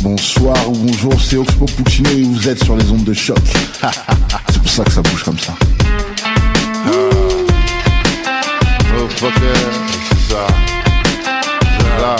Bonsoir ou bonjour, c'est Oxpo Puccino et vous êtes sur les ondes de choc. C'est pour ça que ça bouge comme ça. Oh fucker, c'est ça. Là.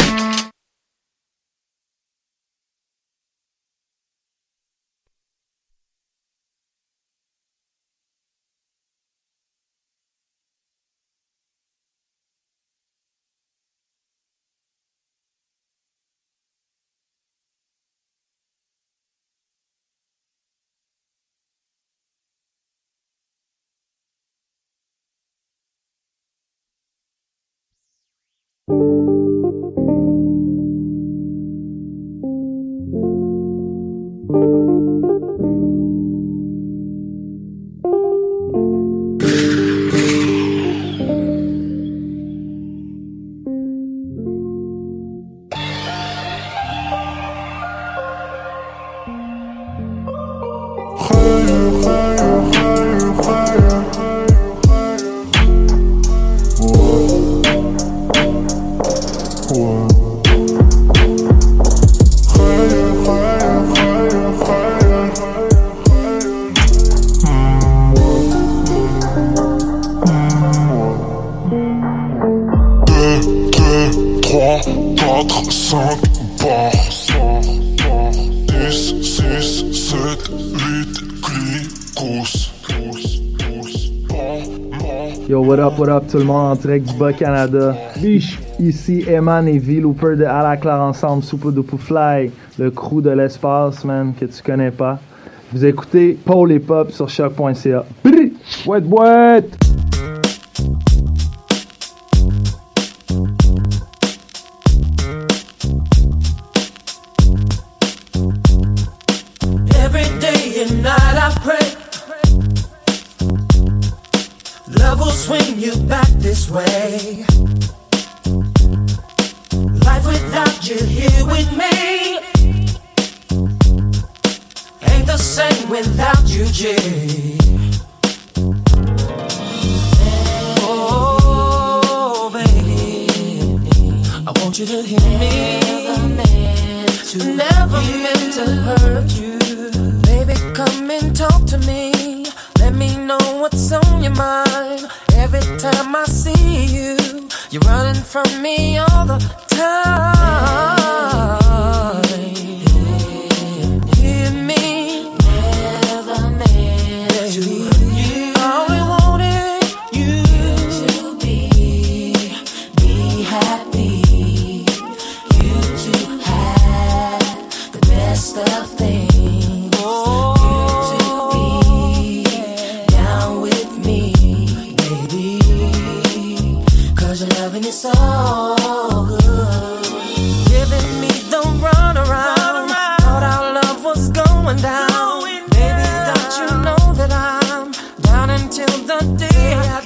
Yo, what up tout le monde en direct du Bas-Canada. Biche. Ici Eman et V-Looper de À la Claire ensemble, Super Duper Fly, le crew de l'espace, man, que tu connais pas. Vous écoutez Paul et Pop sur choc.ca. Boîte, boîte! Every day and night I pray love will swing you back this way. Life without you here with me ain't the same without you, G. Oh, baby, I want you to hear me. Never meant to hurt you. Baby, come and talk to me. Let me know what's on your mind. Every time I see you, you're running from me all the time. Hear me. Never meant to hurt you. I only wanted you to be happy. You to have the best of things. It's so good. Giving me the run around. Thought our love was going down. Baby, don't you know that I'm down until the day I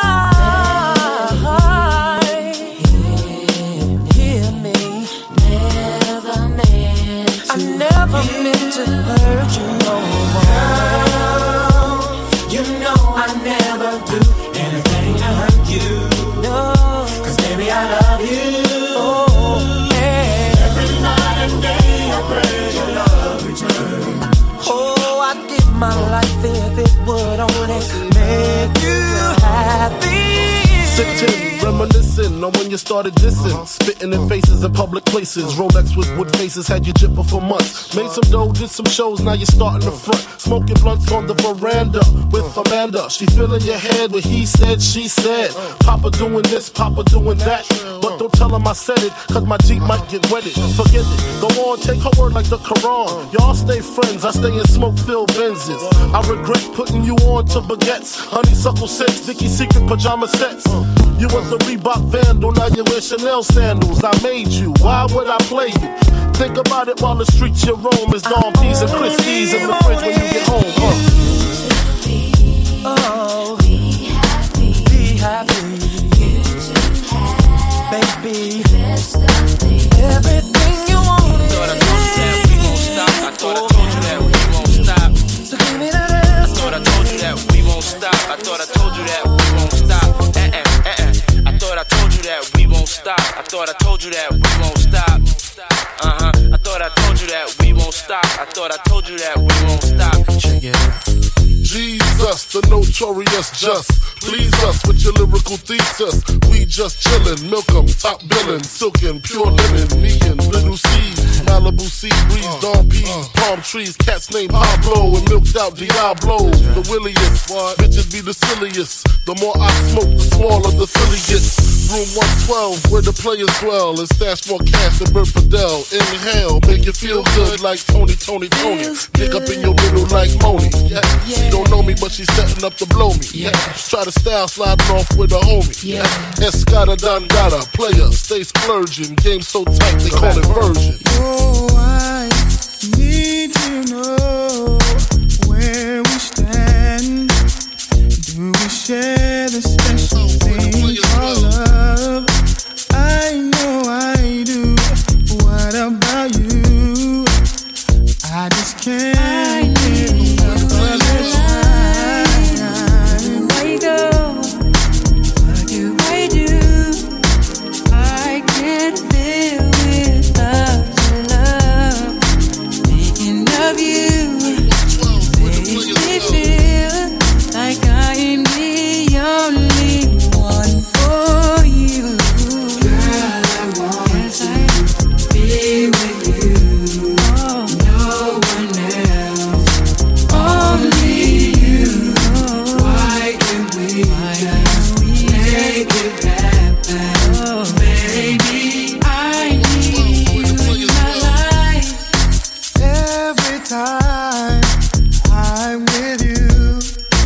die. Hear me. Never meant to. I never meant to hurt you no more. Girl, you know I never do anything to hurt you. No. Baby, I love you. Oh, yeah. Every night and day I pray your love return. Oh, I'd give my life if it would only make you happy. Sitting, reminiscing on when you started dissing. Spitting in faces in public places. Rolex with wood faces had you jipping for months. Made some dough, did some shows, now you're starting the front. Smoking blunts on the veranda with Amanda. She filling your head with he said, she said. Papa doing this, Papa doing that. But don't tell him I said it, cause my Jeep might get wetted. Forget it, go on, take her word like the Quran. Y'all stay friends, I stay in smoke-filled Benzes. I regret putting you on to baguettes. Honeysuckle scents, Vicky's Secret pajama sets. You was a Reebok vandal, now you wear Chanel sandals. I made you, why would I play you? Think about it while the streets you roam is Dawn P's and Christie's in the fridge when you get home. Oh, be happy. Be happy. You to have, baby, everything you want. Thought I told you that we won't stop. I thought I told you that we won't stop. So give me that ass. I thought I told you that we won't stop. I thought I told you that we won't stop. I thought I told you that we won't stop. I thought I told you that we won't stop. I thought I told you stop. I thought I told you that we won't stop. Check it out. Jesus, the notorious just. Please us with your lyrical thesis. We just chillin', milk 'em, top billin', silkin', pure linen, me and Little C's, Malibu sea breeze, Dawn peas, palm trees, cats named Pablo and milked out Diablo. The williest, bitches be the silliest. The more I smoke, the smaller the Philly gets. Room 112, where the players dwell, and stash more cash than Bert Fidel. Inhale, make you feel good like Tony. Dig up in your middle like Moni. Yeah. She don't know me, but she's setting up to blow me. Yeah. Try to style sliding off with a homie. Yeah. Escada Dangada, player, stay splurging. Game so tight, they call it version. Oh, I need to know where we stand. Do we share the special thing called love? I know I do. What about you? I just can't get enough of this time. Where you go? What do I do? I can't live without your love. Thinking of you makes me feel like I am the only one for you. Girl, I want to be with you. No one else, only you. Why can't we just make it happen? Baby, I need you in my life. Every time I'm with you,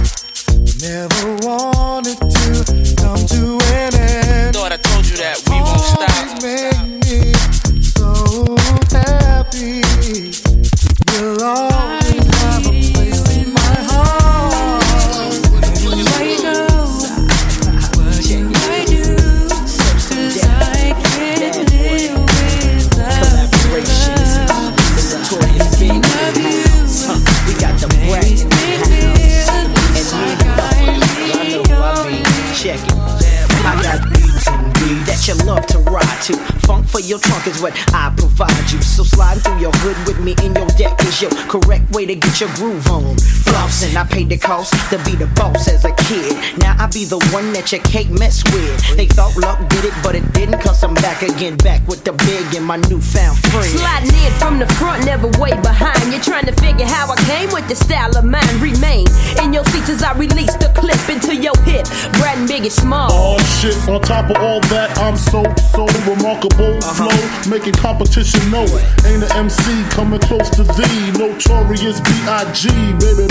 never wanted to come to an end. Thought I told you that we won't stop. Always make me so happy. You'll always have a place in my heart. Where you go? What should I do? 'Cause I can't live without your love. Thinking of you We got the brat makes in me the feel house. like I am the only Check it. I got beats and beats that you love to ride to. Funk for your trunk is what I provide you. So slide through your hood with me in your deck is your correct way to get your groove on. Flossing, I paid the cost to be the boss as a kid. Now I be the one that you can't mess with. They thought luck did it, but it didn't, cause I'm back again, back with the big and my newfound friend. Sliding in from the front, never way behind. You're trying to figure how I came with the style of mine. Remain in your seats as I release the clip into your hip. Brad and Biggie Small. Oh shit, on top of all that, I'm so remarkable. Flow, making competition know it. Ain't an MC coming close to thee. Notorious B.I.G. Baby.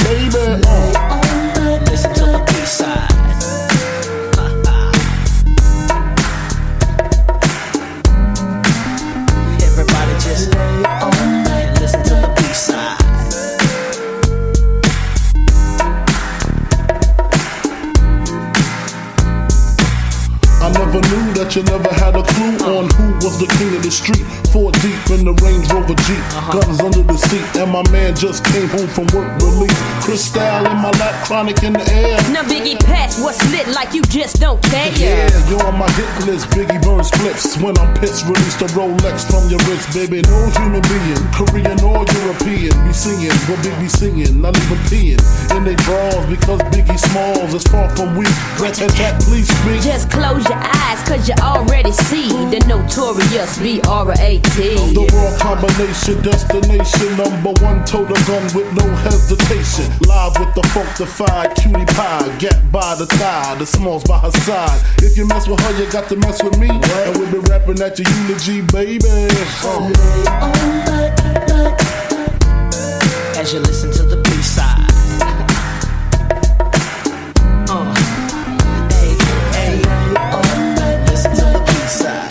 Listen to the B-side. Everybody just lay on and listen to the B-side. I never knew that you never had a clue on who was the king of the street. 4 deep in the Range Rover Jeep, guns under the seat, and my man just came home from work release. Cristal in my lap, chronic in the air. Now Biggie Pass, what's lit like you just don't care. Yeah, you're on my hit list. Biggie burns splits when I'm pissed. Release the Rolex from your wrist, baby. No human being, Korean or European, be singing what Big be singing, not even peeing in they drawers because Biggie Smalls is far from weak. Rat-tat-tat, please speak. Just close your eyes, cause you already see the notorious B.R.A.T. The world combination, destination, #1 total gun with no hesitation. Live with the funkified cutie pie, Gap by the thigh, the Smalls by her side. If you mess with her, you got to mess with me. And we'll be rapping at your eulogy, baby. As you listen to the B-side. Listen to the B-side.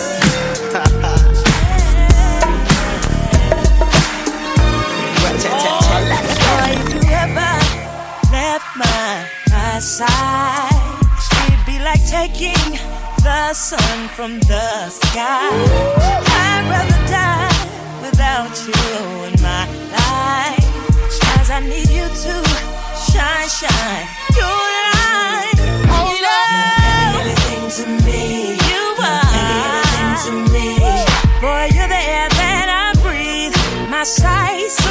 side. It'd be like taking the sun from the sky. I'd rather die without you in my life, 'cause I need you to shine, shine your light. Oh, love, everything to me. You are everything to me. Boy, you're the air that I breathe. My sights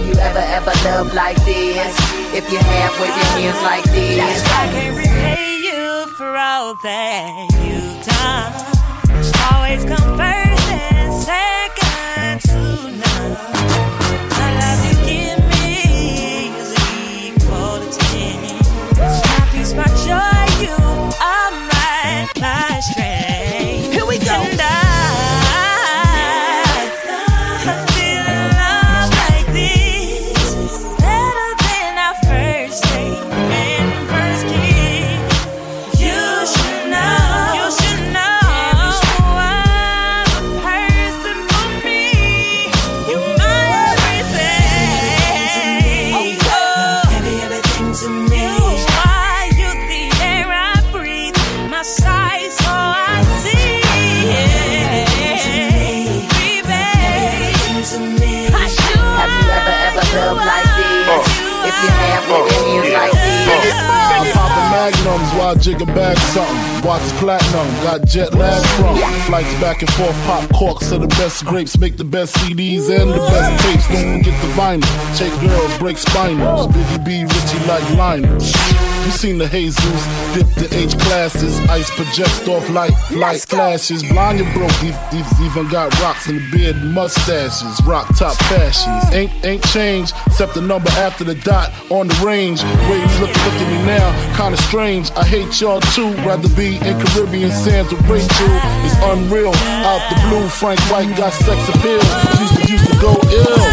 you ever loved like this? If you have, wave your hands like this. I can't repay you for all that you've done. Always come first and second to none. The love you give me is equal to 10. My peace, my joy, you are my strength. Here we go. And I feel love like this better than our first date and first kiss. You should know. You should know. I'm a person for me. You're my everything. Oh, everything to me. You are, you the air I breathe. My sight, so I see. Have you ever loved like this? If you have, wave your hands like this. I'm popping magnums while jigging back something. Watch platinum, got jet lag from. Flights back and forth, pop corks are the best grapes. Make the best CDs and the best tapes. Don't forget the vinyl. Take girls, break spinals. Biggie B, Richie like Lionel. You seen the Jesus, dip the H classes. Ice projects off light flashes. Blind and broke, even got rocks in the beard and mustaches. Rock top fashions. Ain't changed, except the number after the dot on the range. Way you look at me now, kinda strange. I hate y'all too, rather be in Caribbean sands with Rachel. It's unreal, out the blue, Frank White got sex appeal. Used to go ill.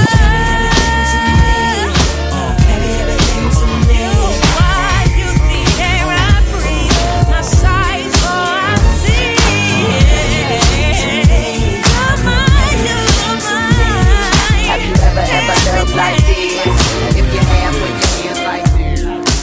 Like this, if you have, wave your hands like this.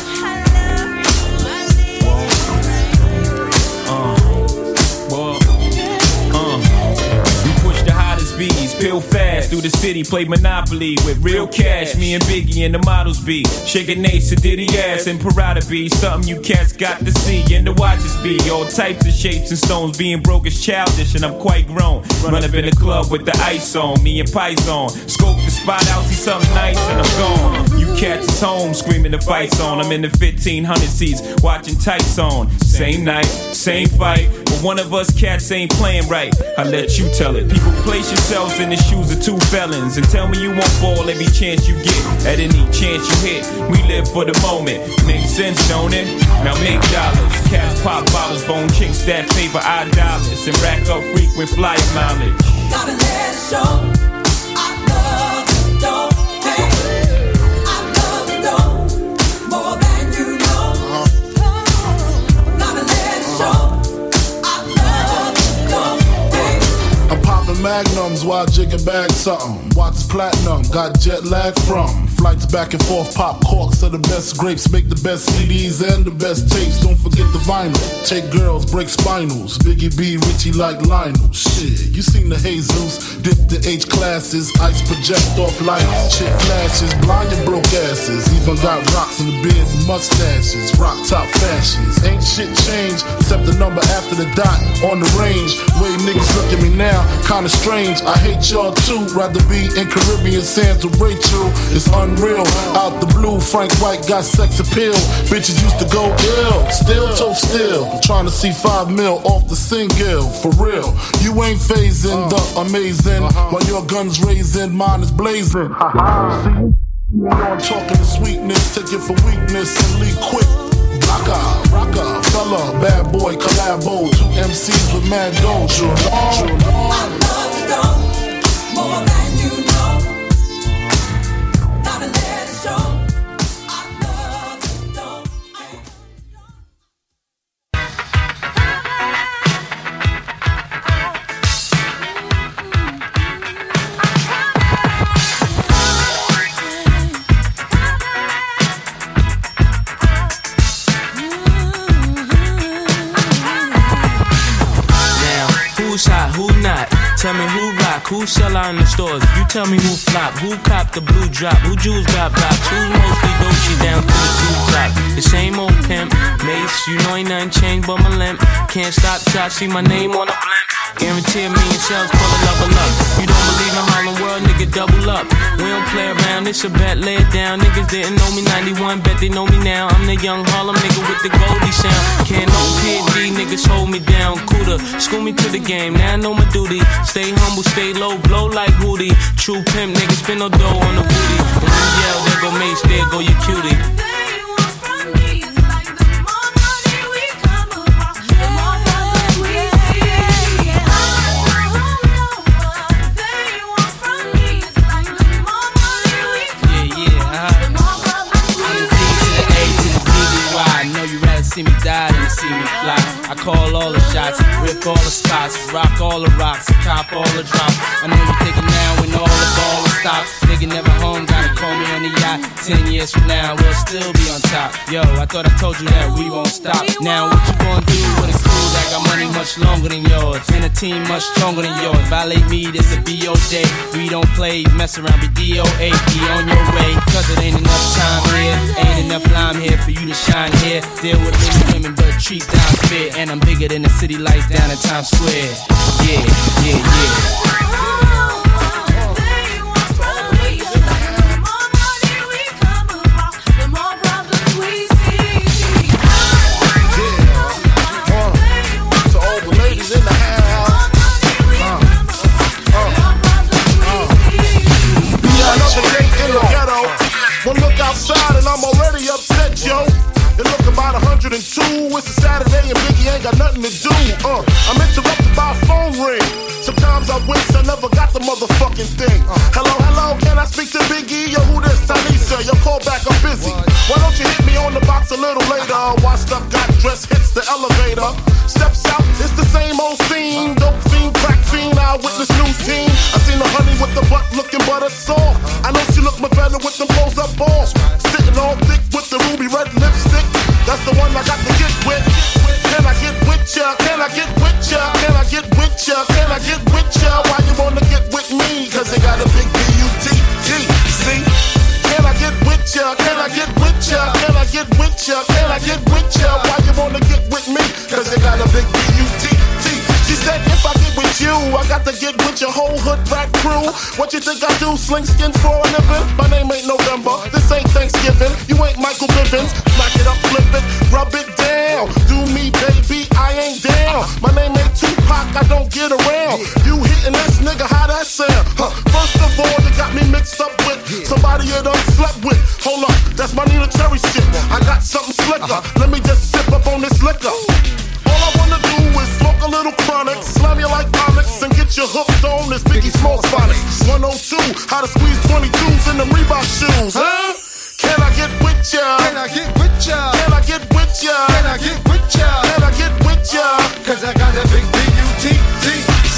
We push the hottest bees, peel fast through the city, play Monopoly with real cash. Me and Biggie and the models be shaking Nate, Diddy ass and Parada be something you cats got to see and the watches be all types of shapes and stones. Being broke is childish and I'm quite grown. Run up in the club with the ice on, me and Python. Scope the spot out, see something nice and I'm gone. You cats is home screaming the fights on. I'm in the 1500 seats watching tights on. Same night, same fight, but one of us cats ain't playing right. I let you tell it. People, place yourselves in the shoes of two felons and tell me you won't fall every chance you get. At any chance you hit, we live for the moment. Makes sense, don't it? Now make dollars. Cats pop bottles, bone chicks that favor our dollars and rack up frequent flyer mileage. Gotta let it show. I love the dope, hey. I love the dope more than you know. Gotta let it show. I love the dope, hey. I'm popping magnums while jigging back something. Watch platinum, got jet lag from. Flights back and forth, pop corks are the best grapes. Make the best CDs and the best tapes. Don't forget the vinyl. Take girls, break spinals. Biggie B, Richie like Lionel. Shit, you seen the Jesus, dip the H classes. Ice project off lights, chick flashes. Blind and broke asses. Even got rocks in the beard and mustaches. Rock top fashions. Ain't shit changed, except the number after the dot on the range. Way niggas look at me now, kinda strange. I hate y'all too, rather be in Caribbean sands with Rachel. It's unreal, out the blue, Frank White got sex appeal. Bitches used to go ill, still toe still. Trying to see 5 mil off the single, for real. You ain't phasing the amazing, while your gun's raising, mine is blazing. See, I'm talking to sweetness, take it for weakness and leave quick. Rocker, fella, bad boy, collabo. 2 MCs with mad doja. I love the dope more than you know. Gotta let it show. I love the dope, hey. Who's hot, who not? Tell me who rock, who sell out in the stores. You tell me who flop, who cop the blue drop, who jewels got blocks, who's mostly Dolce down to the blue top. The same old pimp, Mace, you know ain't nothing changed but my limp. Can't stop till I see my name on a blimp. Guarantee me and shells pull a level up. You don't believe in Harlem World, nigga, double up. We don't play around, it's a bet, lay it down. Niggas didn't know me 91, bet they know me now. I'm the young Harlem nigga with the Goldie sound. Can't no PD, niggas hold me down. Cooler, school me to the game, now I know my duty. Stay humble, stay low, blow like Hootie. True pimp, niggas spin no dough on the booty. When you yell, there go Mace, there go your cutie. See me die than to see me fly. I call all the shots, rip all the spots, rock all the rocks, cop all the drops. I know you think now when all the ball will stop. Nigga never home, gotta call me on the yacht. 10 years from now, we'll still be on top. Yo, I thought I told you that we won't stop. Now what you gonna do with a crew that got money much longer than yours, and a team much stronger than yours? Violate me, this a BO day. We don't play, mess around, be DOA, be on your way. Cause it ain't enough time here, ain't enough lime here for you to shine here. Deal with women, but treat down fit. And I'm bigger than the city lights down in Times Square. Yeah, yeah, yeah. One look outside and I'm already upset, yo. It look about 102. It's a Saturday and Biggie ain't got nothing to do. I'm interrupted by a phone ring. Sometimes I wish I never got the motherfucking thing. Hello, hello, can I speak to Biggie? Yo, who this? Tanisha, your call back, I'm busy. Why don't you hit me on the box a little later? Washed up, got dressed, hits the elevator. Steps out, it's the same old scene. Dope fiend, crack fiend, eyewitness news team. I seen the honey with the butt looking butter soft. I know she look my better with them clothes up balls. Sitting all thick with the ruby red lipstick. That's the one I got to get with. Can I get with ya? Can I get with ya? Can I get with ya? Can I get with ya? Why you wanna get with me? Cause they got a big B-U-T-T-C. Can I get with ya? Can I get with ya? Can I get with ya? Can I get with ya? Why you wanna get with me? Cause they got a big B-U-T-T. She said if I get with you, I got to get with your whole hood rat crew. What you think I do? Sling skins for a living? My name ain't November, this ain't Thanksgiving. You ain't Michael Bivins. Smack it up, flip it, rub it down. Do me, baby, I ain't down. My name ain't Tupac, I don't get around. You hitting this nigga, how that sound? First of all, you got me mixed up with somebody you done slept with. Hold up, that's my Nina Cherry shit. I got something slicker, let me just sip up on this liquor. All I wanna do is smoke a little chronic, slam you like comics, and get you hooked on this Biggie Smalls phonics. 102, how to squeeze 22s in them Reebok shoes, huh? Can I get with ya? Can I get with ya? Can I get with ya? Can I get with ya? Can I get with ya? Cause I got that big B-U-T-T-C.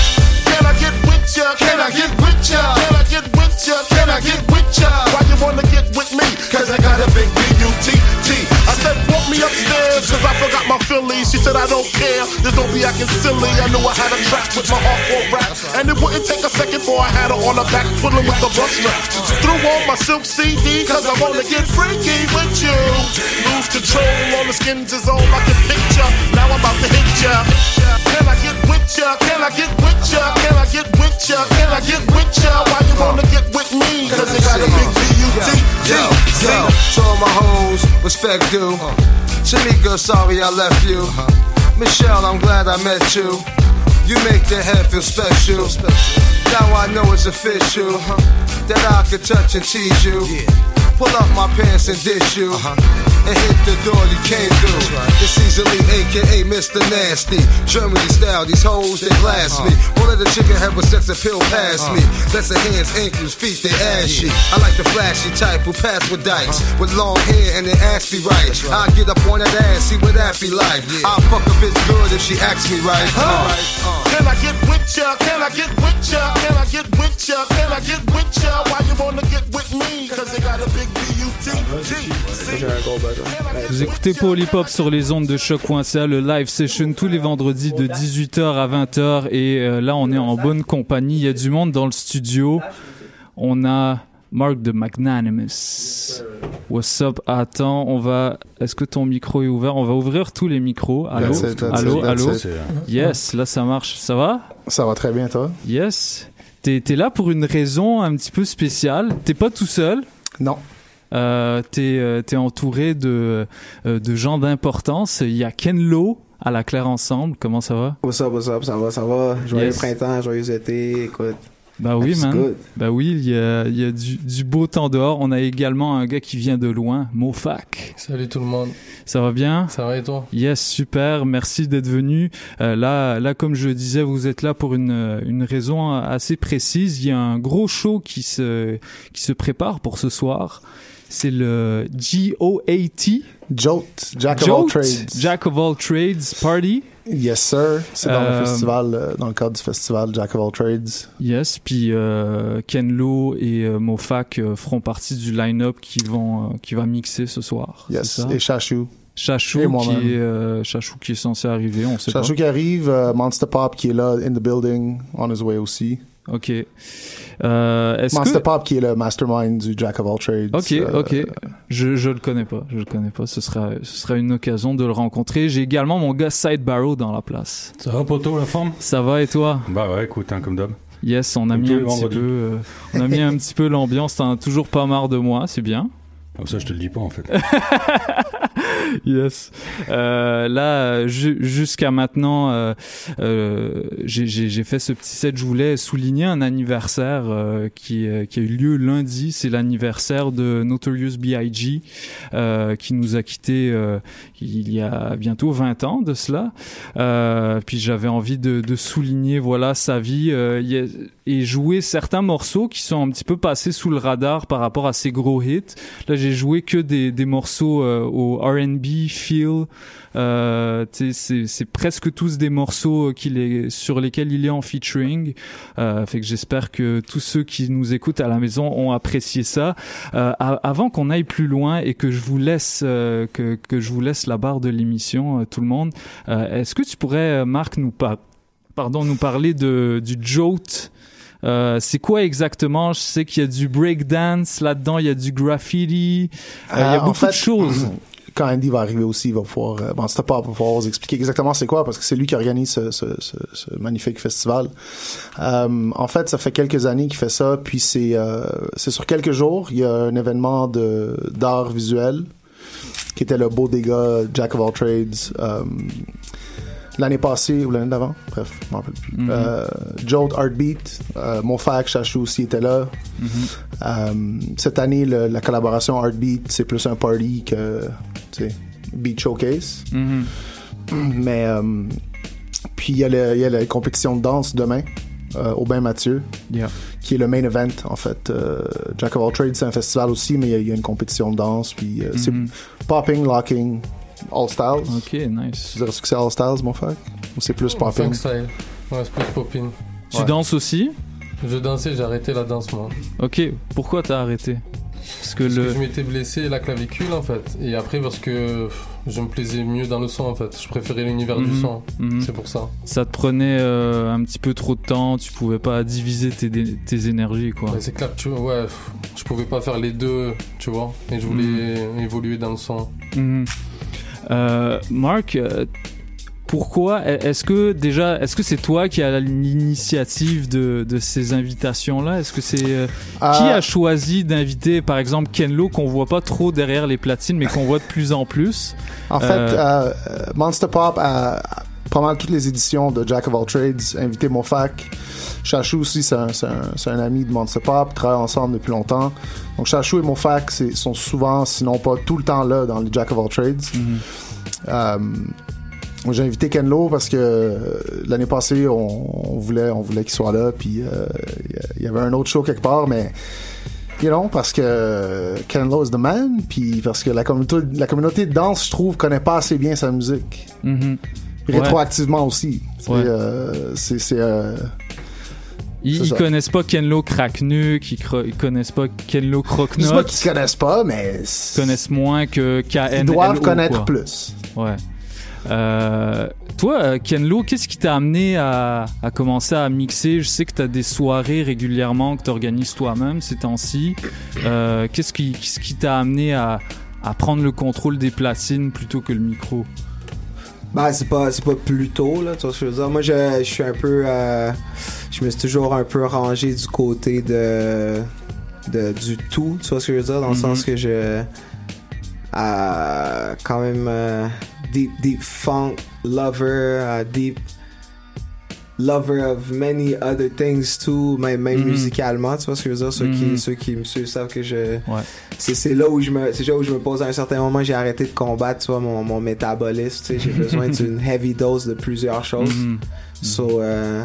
Can I get with ya? Can I get with ya? Can I get with ya? Can I get with ya? Why you wanna get with me? Cause I got a big B-U-T-T. I said walk me upstairs cause I forgot my Phillies. She said I don't care, just don't be acting silly. I knew I had a track with my hardcore rap, and it wouldn't take a second before I had her on her back twiddling with the bus strap. Threw on my silk CD cause I wanna get freaky with you. Lose control, all the skins is all I can picture. Now I'm about to hit ya. Can I get with ya? Can I get with ya? Can I get with ya? Can I get with ya? Why you wanna get with me? Cause it got a big B-U-T-T. Yo, to all my hoes, respect due. Shanika, sorry I left you. Michelle, I'm glad I met you. You make the head feel special. Now I know it's official that I can touch and tease you. Pull up my pants and dish you. And hit the door you came through. It's easily AKA Mr. Nasty. Germany style, these hoes they blast me. All of the chicken head with sex appeal past me. That's the hands, ankles, feet, they ashy. I like the flashy type who pass with dice. With long hair and their ass be right. I get up on that ass, see what that be like. I'll fuck a bitch good if she asks me right. Can I get with ya? Can I get with ya? Can I get with ya? Can I get with ya? Why you wanna get with me? Cause they got a big B-U-T-T. Vous écoutez Paul Hip Hop sur les ondes de choc.ca, le live session tous les vendredis de 18h à 20h. Et là, on est en bonne compagnie. Il y a du monde dans le studio. On a Mark de Magnanimous. What's up? Attends, est-ce que ton micro est ouvert? On va ouvrir tous les micros. Allô? Allô? Yes, là ça marche. Ça va? Ça va très bien, toi? Yes. T'es là pour une raison un petit peu spéciale. T'es pas tout seul? Non. T'es entouré de gens d'importance. Il y a Ken Lo à la Claire Ensemble. Comment ça va? What's up? Ça va. Joyeux printemps, joyeux été, écoute. Bah oui, man. Good. Bah oui, il y a du beau temps dehors. On a également un gars qui vient de loin, Mofak. Salut tout le monde. Ça va bien? Ça va et toi? Yes, super. Merci d'être venu. Là, comme je disais, vous êtes là pour une raison assez précise. Il y a un gros show qui se prépare pour ce soir. C'est le GOAT. Jolt, Jack of All Trades. Jack of All Trades Party. Yes, sir. C'est dans le festival, dans le cadre du festival Jack of All Trades. Yes, puis Ken Lo et Mofak feront partie du line-up qui va mixer ce soir. Yes, et Chachou. Chachou qui est censé arriver, on sait pas. Chachou qui arrive, Monster Pop qui est là, in the building, on his way aussi. Ok. Monster Pop qui est le mastermind du Jack of All Trades. Ok. Je le connais pas. Ce sera une occasion de le rencontrer. J'ai également mon gars Side Barrow dans la place. Ça va, poto, la forme? Ça va et toi? Bah ouais, écoute, comme d'hab. Yes, on a mis un petit peu l'ambiance. T'en as toujours pas marre de moi, c'est bien. Ça, je te le dis pas, en fait. Yes. Là, jusqu'à maintenant, j'ai fait ce petit set. Je voulais souligner un anniversaire qui a eu lieu lundi. C'est l'anniversaire de Notorious B.I.G. Qui nous a quittés il y a bientôt 20 ans de cela. Puis j'avais envie de souligner sa vie et jouer certains morceaux qui sont un petit peu passés sous le radar par rapport à ses gros hits. Là, j'ai joué que des morceaux au R&B feel. C'est presque tous des morceaux sur lesquels il est en featuring. Fait que j'espère que tous ceux qui nous écoutent à la maison ont apprécié ça. Avant qu'on aille plus loin et que je vous laisse que je vous laisse la barre de l'émission, tout le monde, est-ce que tu pourrais, Marc, nous parler du Jolt? C'est quoi exactement? Je sais qu'il y a du breakdance là-dedans, il y a du graffiti, il y a beaucoup de choses. Quand Andy va arriver aussi, il va pouvoir, Monster Pop va pouvoir vous expliquer exactement c'est quoi, parce que c'est lui qui organise ce magnifique festival. En fait, ça fait quelques années qu'il fait ça, puis c'est sur quelques jours. Il y a un événement d'art visuel qui était le Bodega Jack of All Trades. L'année passée ou l'année d'avant, bref, je m'en rappelle plus. Jolt Heartbeat, Mofak, Chachou aussi était là. Cette année, la collaboration Heartbeat, c'est plus un party que, Beat Showcase. Mais puis il y a la compétition de danse demain au Bain Mathieu, qui est le main event en fait. Jack of All Trades, c'est un festival aussi, mais il y a une compétition de danse, puis c'est popping, locking. All Styles. Ok, nice. Tu dirais que c'est All Styles, mon frère? Ou c'est plus popping? Funk style. Ouais, c'est plus popping. Tu danses aussi? Je dansais, j'ai arrêté la danse, moi. Ok, pourquoi t'as arrêté? Parce que je m'étais blessé la clavicule, en fait. Et après, parce que je me plaisais mieux dans le son, en fait. Je préférais l'univers du son. C'est pour ça. Ça te prenait un petit peu trop de temps. Tu pouvais pas diviser tes énergies, quoi. Ouais, c'est clair, je pouvais pas faire les deux, tu vois. Et je voulais évoluer dans le son. Marc, pourquoi est-ce que c'est toi qui as l'initiative de ces invitations-là? Est-ce que c'est qui a choisi d'inviter par exemple Ken Lo, qu'on voit pas trop derrière les platines mais qu'on voit de plus en plus? En fait, Monster Pop a pas mal toutes les éditions de Jack of All Trades invité Mofak. Chachou aussi, c'est un ami de Monster Pop, travaillent ensemble depuis longtemps. Donc Chachou et Mofak sont souvent, sinon pas tout le temps là dans les Jack of All Trades. J'ai invité Ken Lo parce que l'année passée on voulait qu'il soit là, puis il y avait un autre show quelque part, mais parce que Ken Lo is the man, puis parce que la communauté de danse, je trouve, connaît pas assez bien sa musique. Rétroactivement aussi. Ils connaissent pas Ken Lo Cracknuck, ils connaissent pas Ken Lo Croque-Note. Je sais pas qu'ils connaissent pas, mais ils connaissent moins que KN. Ils doivent connaître plus. Ouais. Toi, Ken Lo, qu'est-ce qui t'a amené à commencer à mixer? Je sais que t'as des soirées régulièrement que t'organises toi-même ces temps-ci. Qu'est-ce qui t'a amené à prendre le contrôle des platines plutôt que le micro? Ben, c'est pas plus tôt, là, tu vois ce que je veux dire. Moi, je suis un peu... je me suis toujours un peu rangé du côté du tout, tu vois ce que je veux dire, dans le sens que je... quand même deep funk lover, deep lover of many other things too, même musicalement, tu vois ce que je veux dire. Ceux qui me suivent savent que c'est là où je me pose à un certain moment. J'ai arrêté de combattre, tu vois, mon métabolisme, tu sais. J'ai besoin d'une heavy dose de plusieurs choses. So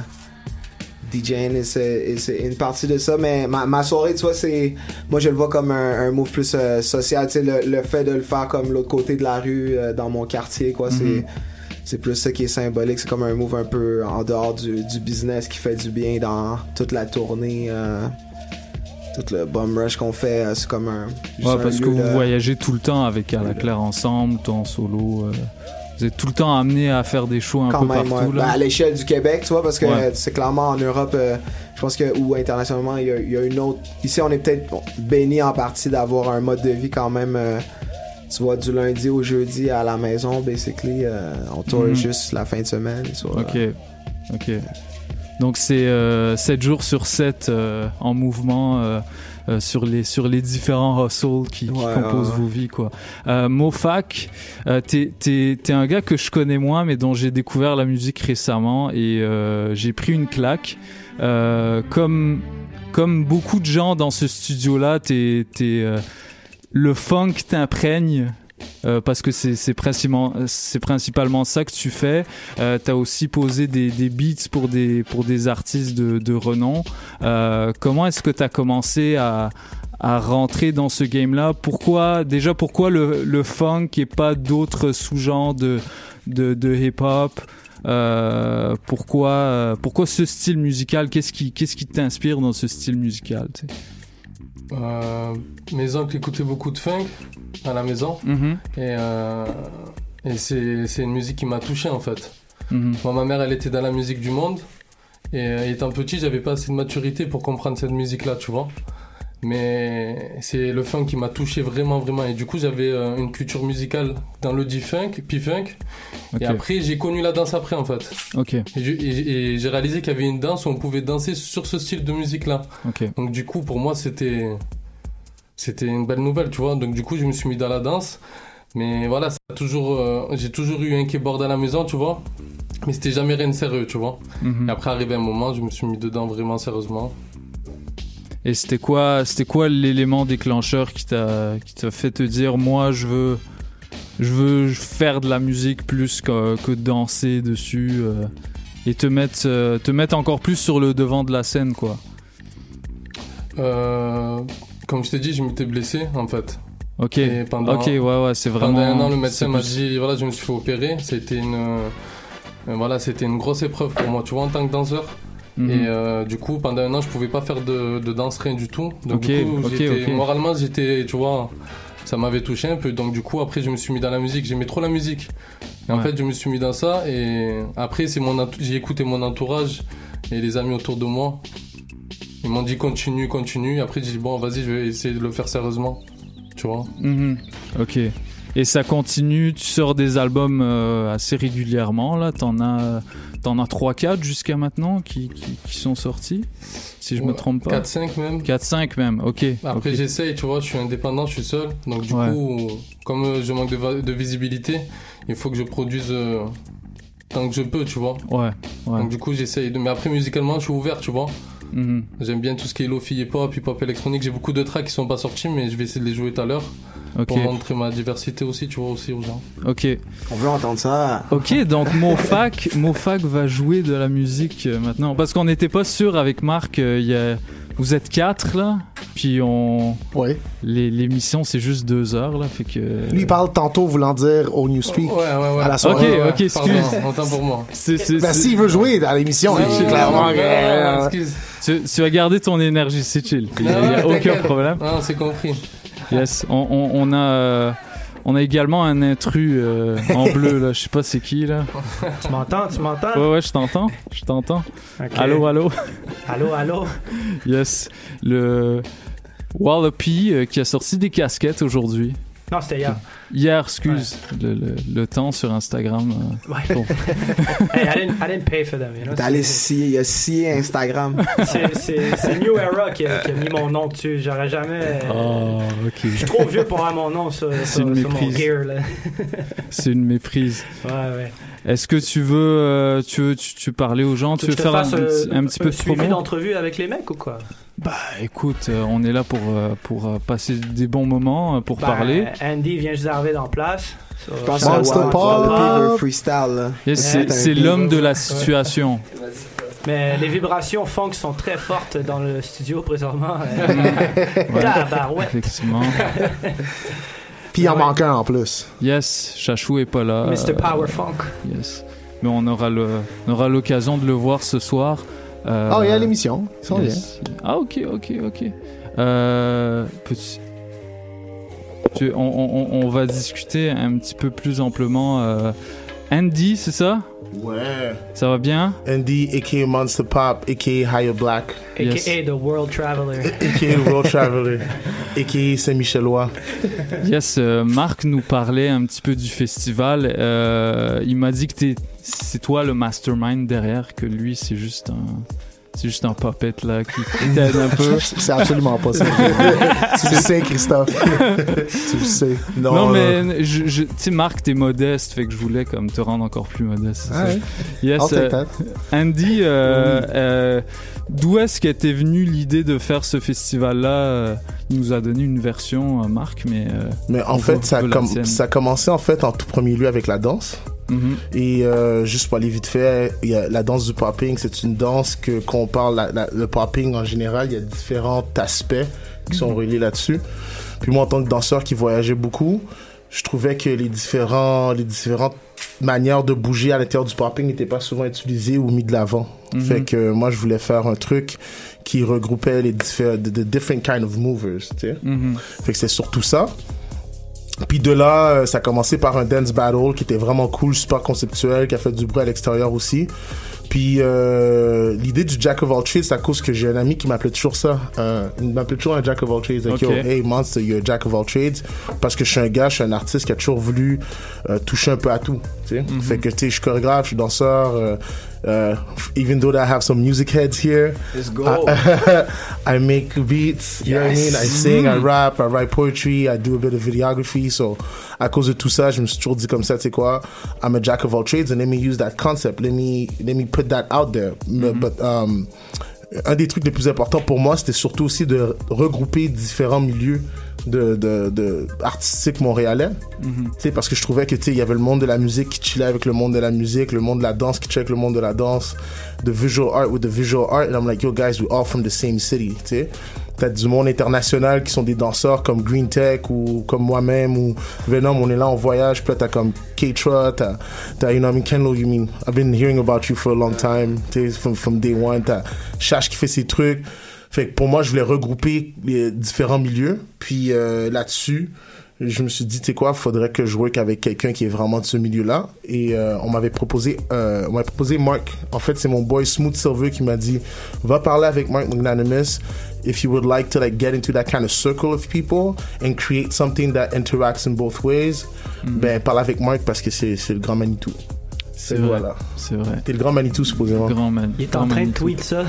DJing c'est une partie de ça, mais ma soirée, tu vois, moi je le vois comme un move plus social, tu sais, le fait de le faire comme l'autre côté de la rue, dans mon quartier, quoi. C'est plus ça qui est symbolique. C'est comme un move un peu en dehors du business qui fait du bien dans toute la tournée, tout le bum rush qu'on fait. C'est comme un... parce que vous voyagez tout le temps avec À la Claire ensemble, toi en solo. Vous êtes tout le temps amené à faire des shows un peu partout. Là. À l'échelle du Québec, tu vois, parce que c'est clairement en Europe, je pense que, ou internationalement, il y a une autre... Ici, on est peut-être béni en partie d'avoir un mode de vie quand même... tu vois, du lundi au jeudi à la maison, basically, on tourne juste la fin de semaine. Ok. Donc c'est 7 jours sur 7 en mouvement sur les différents hustles qui composent vos vies, quoi. Mofak, t'es un gars que je connais moins, mais dont j'ai découvert la musique récemment et j'ai pris une claque. Comme beaucoup de gens dans ce studio-là, le funk t'imprègne parce que c'est principalement ça que tu fais. T'as aussi posé des beats pour des artistes de renom. Comment est-ce que t'as commencé à rentrer dans ce game-là? Pourquoi le funk et pas d'autres sous-genres de hip-hop? Pourquoi ce style musical? Qu'est-ce qui t'inspire dans ce style musical, tu sais? Mes oncles écoutaient beaucoup de funk à la maison et c'est une musique qui m'a touché en fait. Moi, ma mère elle était dans la musique du monde et étant petit j'avais pas assez de maturité pour comprendre cette musique là, tu vois, mais c'est le funk qui m'a touché vraiment et du coup j'avais une culture musicale dans le P-funk et après j'ai connu la danse après en fait. Et j'ai réalisé qu'il y avait une danse où on pouvait danser sur ce style de musique là. Donc du coup pour moi c'était une belle nouvelle, tu vois. Donc du coup je me suis mis dans la danse, mais voilà, j'ai toujours eu un keyboard à la maison, tu vois, mais c'était jamais rien de sérieux, tu vois. Et après arrivé un moment je me suis mis dedans vraiment sérieusement. Et c'était quoi l'élément déclencheur qui t'a fait te dire moi je veux faire de la musique plus que danser dessus et te mettre encore plus sur le devant de la scène, quoi? Comme je t'ai dit, je m'étais blessé en fait. C'est vraiment... Pendant un an, le médecin m'a dit voilà, je me suis fait opérer. C'était une grosse épreuve pour moi, tu vois, en tant que danseur. Et du coup pendant un an je pouvais pas faire de danse, rien du tout. Donc du coup moralement j'étais, tu vois, ça m'avait touché un peu. Donc du coup après je me suis mis dans la musique, j'aimais trop la musique et en fait je me suis mis dans ça. Et après j'ai écouté mon entourage et les amis autour de moi, ils m'ont dit continue. Après j'ai dit bon vas-y, je vais essayer de le faire sérieusement, tu vois. Et ça continue, tu sors des albums assez régulièrement là, t'en as 3-4 jusqu'à maintenant qui sont sortis, si je me trompe pas. 4-5 même. 4-5 même, ok. Après j'essaye, tu vois, je suis indépendant, je suis seul. Donc du coup, comme je manque de visibilité, il faut que je produise tant que je peux, tu vois. Donc du coup j'essaye. Mais après musicalement, je suis ouvert, tu vois. J'aime bien tout ce qui est lo-fi, hip-hop électronique. J'ai beaucoup de tracks qui sont pas sortis, mais je vais essayer de les jouer tout à l'heure. Pour montrer ma diversité aussi, tu vois, aussi aux gens. On veut entendre ça. Donc Mofak va jouer de la musique maintenant. Parce qu'on n'était pas sûr avec Marc, vous êtes 4 là, puis l'émission c'est juste 2 heures là, fait que... Lui il parle tantôt voulant dire au Newspeak à la soirée. Ok, excuse. Autant pour moi. S'il veut jouer à l'émission, clairement. Excuse. Tu vas garder ton énergie, c'est chill. Il n'y a aucun problème. Non, c'est compris. Yes, on On a également un intrus en bleu, là. Je sais pas c'est qui, là. Tu m'entends? Ouais, je t'entends. Ok. Allô? Allô? Yes. Le Wallopy qui a sorti des casquettes aujourd'hui. Non, c'était hier. Hier, excuse. Le temps sur Instagram. Ouais. Bon. Hey, I didn't pay for them, you know? Il a scié Instagram. C'est New Era qui a mis mon nom dessus. J'aurais jamais. Ok. Je suis trop vieux pour avoir mon nom sur mon gear, là. C'est une méprise. Ouais. Est-ce que tu veux parler aux gens? Tu veux faire un petit peu de promo? Suivi d'entrevue avec les mecs ou quoi? Bah écoute, on est là pour passer des bons moments, pour parler. Andy vient juste d'arriver dans place. Je pense que Wallopy freestyle. Là. Yes, c'est l'homme de la situation. Mais les vibrations funk sont très fortes dans le studio présentement. Effectivement. Puis il en manque un en plus. Yes, Chachou est pas là. Mr. Power Funk. Yes. Mais on aura l'occasion de le voir ce soir. Il y a l'émission. Ils sont bien. Ah, ok. On va discuter un petit peu plus amplement. Andy, c'est ça? Ouais. Ça va bien? Andy, a.k.a. Monster Pop, a.k.a. Higher Black. A.k.a. The World Traveler. A.k.a. World Traveler. A.k.a. Saint-Michelois. Yes, Marc nous parlait un petit peu du festival. Il m'a dit que c'est toi le mastermind derrière, que lui, c'est juste un puppet là qui t'aide un peu. C'est absolument pas ça. Tu le sais, Christophe. Tu le sais. Non mais tu sais, Marc, t'es modeste, fait que je voulais comme te rendre encore plus modeste. Ah ouais. Yes. Andy, d'où est-ce qu'était venue l'idée de faire ce festival-là? Il nous a donné une version, Marc, mais en fait, ça a commencé en fait en tout premier lieu avec la danse. Mm-hmm. Et juste pour aller vite fait, il y a la danse du popping. C'est une danse qu'on parle, le popping en général, il y a différents aspects qui sont reliés là-dessus. Puis moi, en tant que danseur qui voyageait beaucoup, je trouvais que les différentes manières de bouger à l'intérieur du popping n'étaient pas souvent utilisées ou mis de l'avant. Mm-hmm. Fait que moi, je voulais faire un truc qui regroupait les different kind of movers, tu sais. Mm-hmm. Fait que c'est surtout ça. Puis de là, ça a commencé par un dance battle qui était vraiment cool, super conceptuel, qui a fait du bruit à l'extérieur aussi. Puis l'idée du Jack of all trades, c'est à cause que j'ai un ami qui m'appelait toujours ça. Il m'appelait toujours un Jack of all trades. Like, yo, hey Monster, you're a Jack of all trades. Parce que je suis un artiste qui a toujours voulu toucher un peu à tout. Mm-hmm. Fait que tu sais, je suis chorégraphe, je suis danseur. Even though I have some music heads here, let's go. I make beats, you know what I mean? I sing, I rap, I write poetry, I do a bit of videography. So, à cause de tout ça, je me suis toujours dit comme ça, tu sais quoi, I'm a jack of all trades and let me use that concept. Let me put that out there. Mm-hmm. But, un des trucs les plus importants pour moi, c'était surtout aussi de regrouper différents milieux de artistiques montréalais. Mm-hmm. Tu sais, parce que je trouvais que, tu sais, il y avait le monde de la musique qui chillait avec le monde de la musique, le monde de la danse qui chillait avec le monde de la danse, the visual art with the visual art, and I'm like, yo guys, we all from the same city, tu sais. T'as du monde international qui sont des danseurs comme Green Tech ou comme moi-même ou Venom, on est là en voyage, puis là t'as comme K-Tra, t'as you know, I mean, Ken Lo, you mean, I've been hearing about you for a long time, tu sais, from day one, t'as Chash qui fait ses trucs. Fait que pour moi, je voulais regrouper les différents milieux. Puis là-dessus, je me suis dit, tu sais quoi, faudrait que je work avec quelqu'un qui est vraiment de ce milieu-là. Et on m'avait proposé Mark. En fait, c'est mon boy Smooth Silver qui m'a dit, va parler avec Mark Magnanimous if you would like to like get into that kind of circle of people and create something that interacts in both ways. Mm-hmm. Ben, parle avec Mark parce que c'est le grand Manitou. C'est vrai. Voilà. C'est vrai. T'es le grand Manitou, supposément. Il est en train de tweet ça.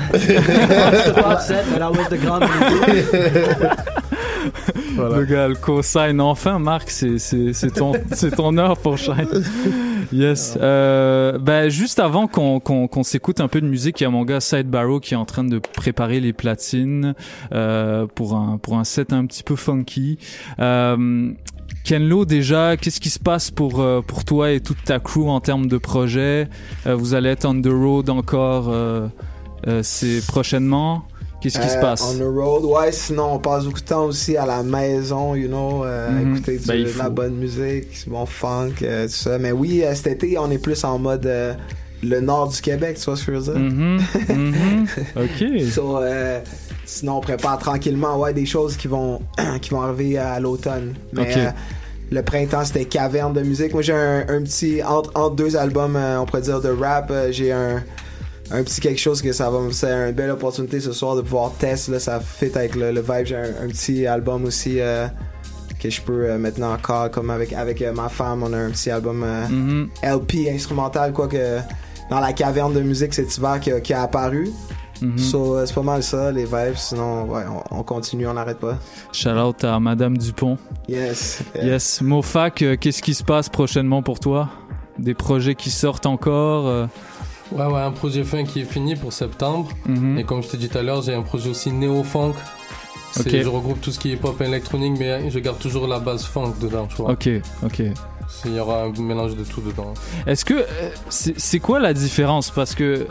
Le grand Manitou. Voilà. Le gars, le cosign. Enfin, Marc, c'est ton heure pour Shine. Yes. Ben, juste avant qu'on s'écoute un peu de musique, il y a mon gars Side Barrow qui est en train de préparer les platines pour un set un petit peu funky. Ken Lo, déjà, qu'est-ce qui se passe pour toi et toute ta crew en termes de projet? Vous allez être on the road encore c'est prochainement? Qu'est-ce qui se passe? On the road, ouais, sinon on passe beaucoup de temps aussi à la maison, you know, écouter de la bonne musique, bon funk, tout ça. Mais oui, cet été, on est plus en mode le nord du Québec, tu vois ce que je veux dire? OK. So, sinon, on prépare tranquillement des choses qui vont arriver à l'automne. Mais Le printemps, c'était caverne de musique. Moi, j'ai un petit... Entre deux albums, on pourrait dire, de rap, j'ai un petit quelque chose que c'est une belle opportunité ce soir de pouvoir tester. Là, ça fit avec le vibe. J'ai un petit album aussi que je peux maintenant encore, comme avec ma femme, on a un petit album LP instrumental, quoi, que dans la caverne de musique cet hiver qui a apparu. So, c'est pas mal ça, les vibes. Sinon, ouais, on continue, on n'arrête pas. Shout out à Madame Dupont. Yes. Yes. Mofac, qu'est-ce qui se passe prochainement pour toi? Des projets qui sortent encore? Ouais, un projet fin qui est fini pour septembre. Et comme je t'ai dit tout à l'heure, j'ai un projet aussi néo-funk. Je regroupe tout ce qui est pop électronique, mais je garde toujours la base funk dedans, tu vois. Ok. Il y aura un mélange de tout dedans. Est-ce que... c'est quoi la différence? Parce que...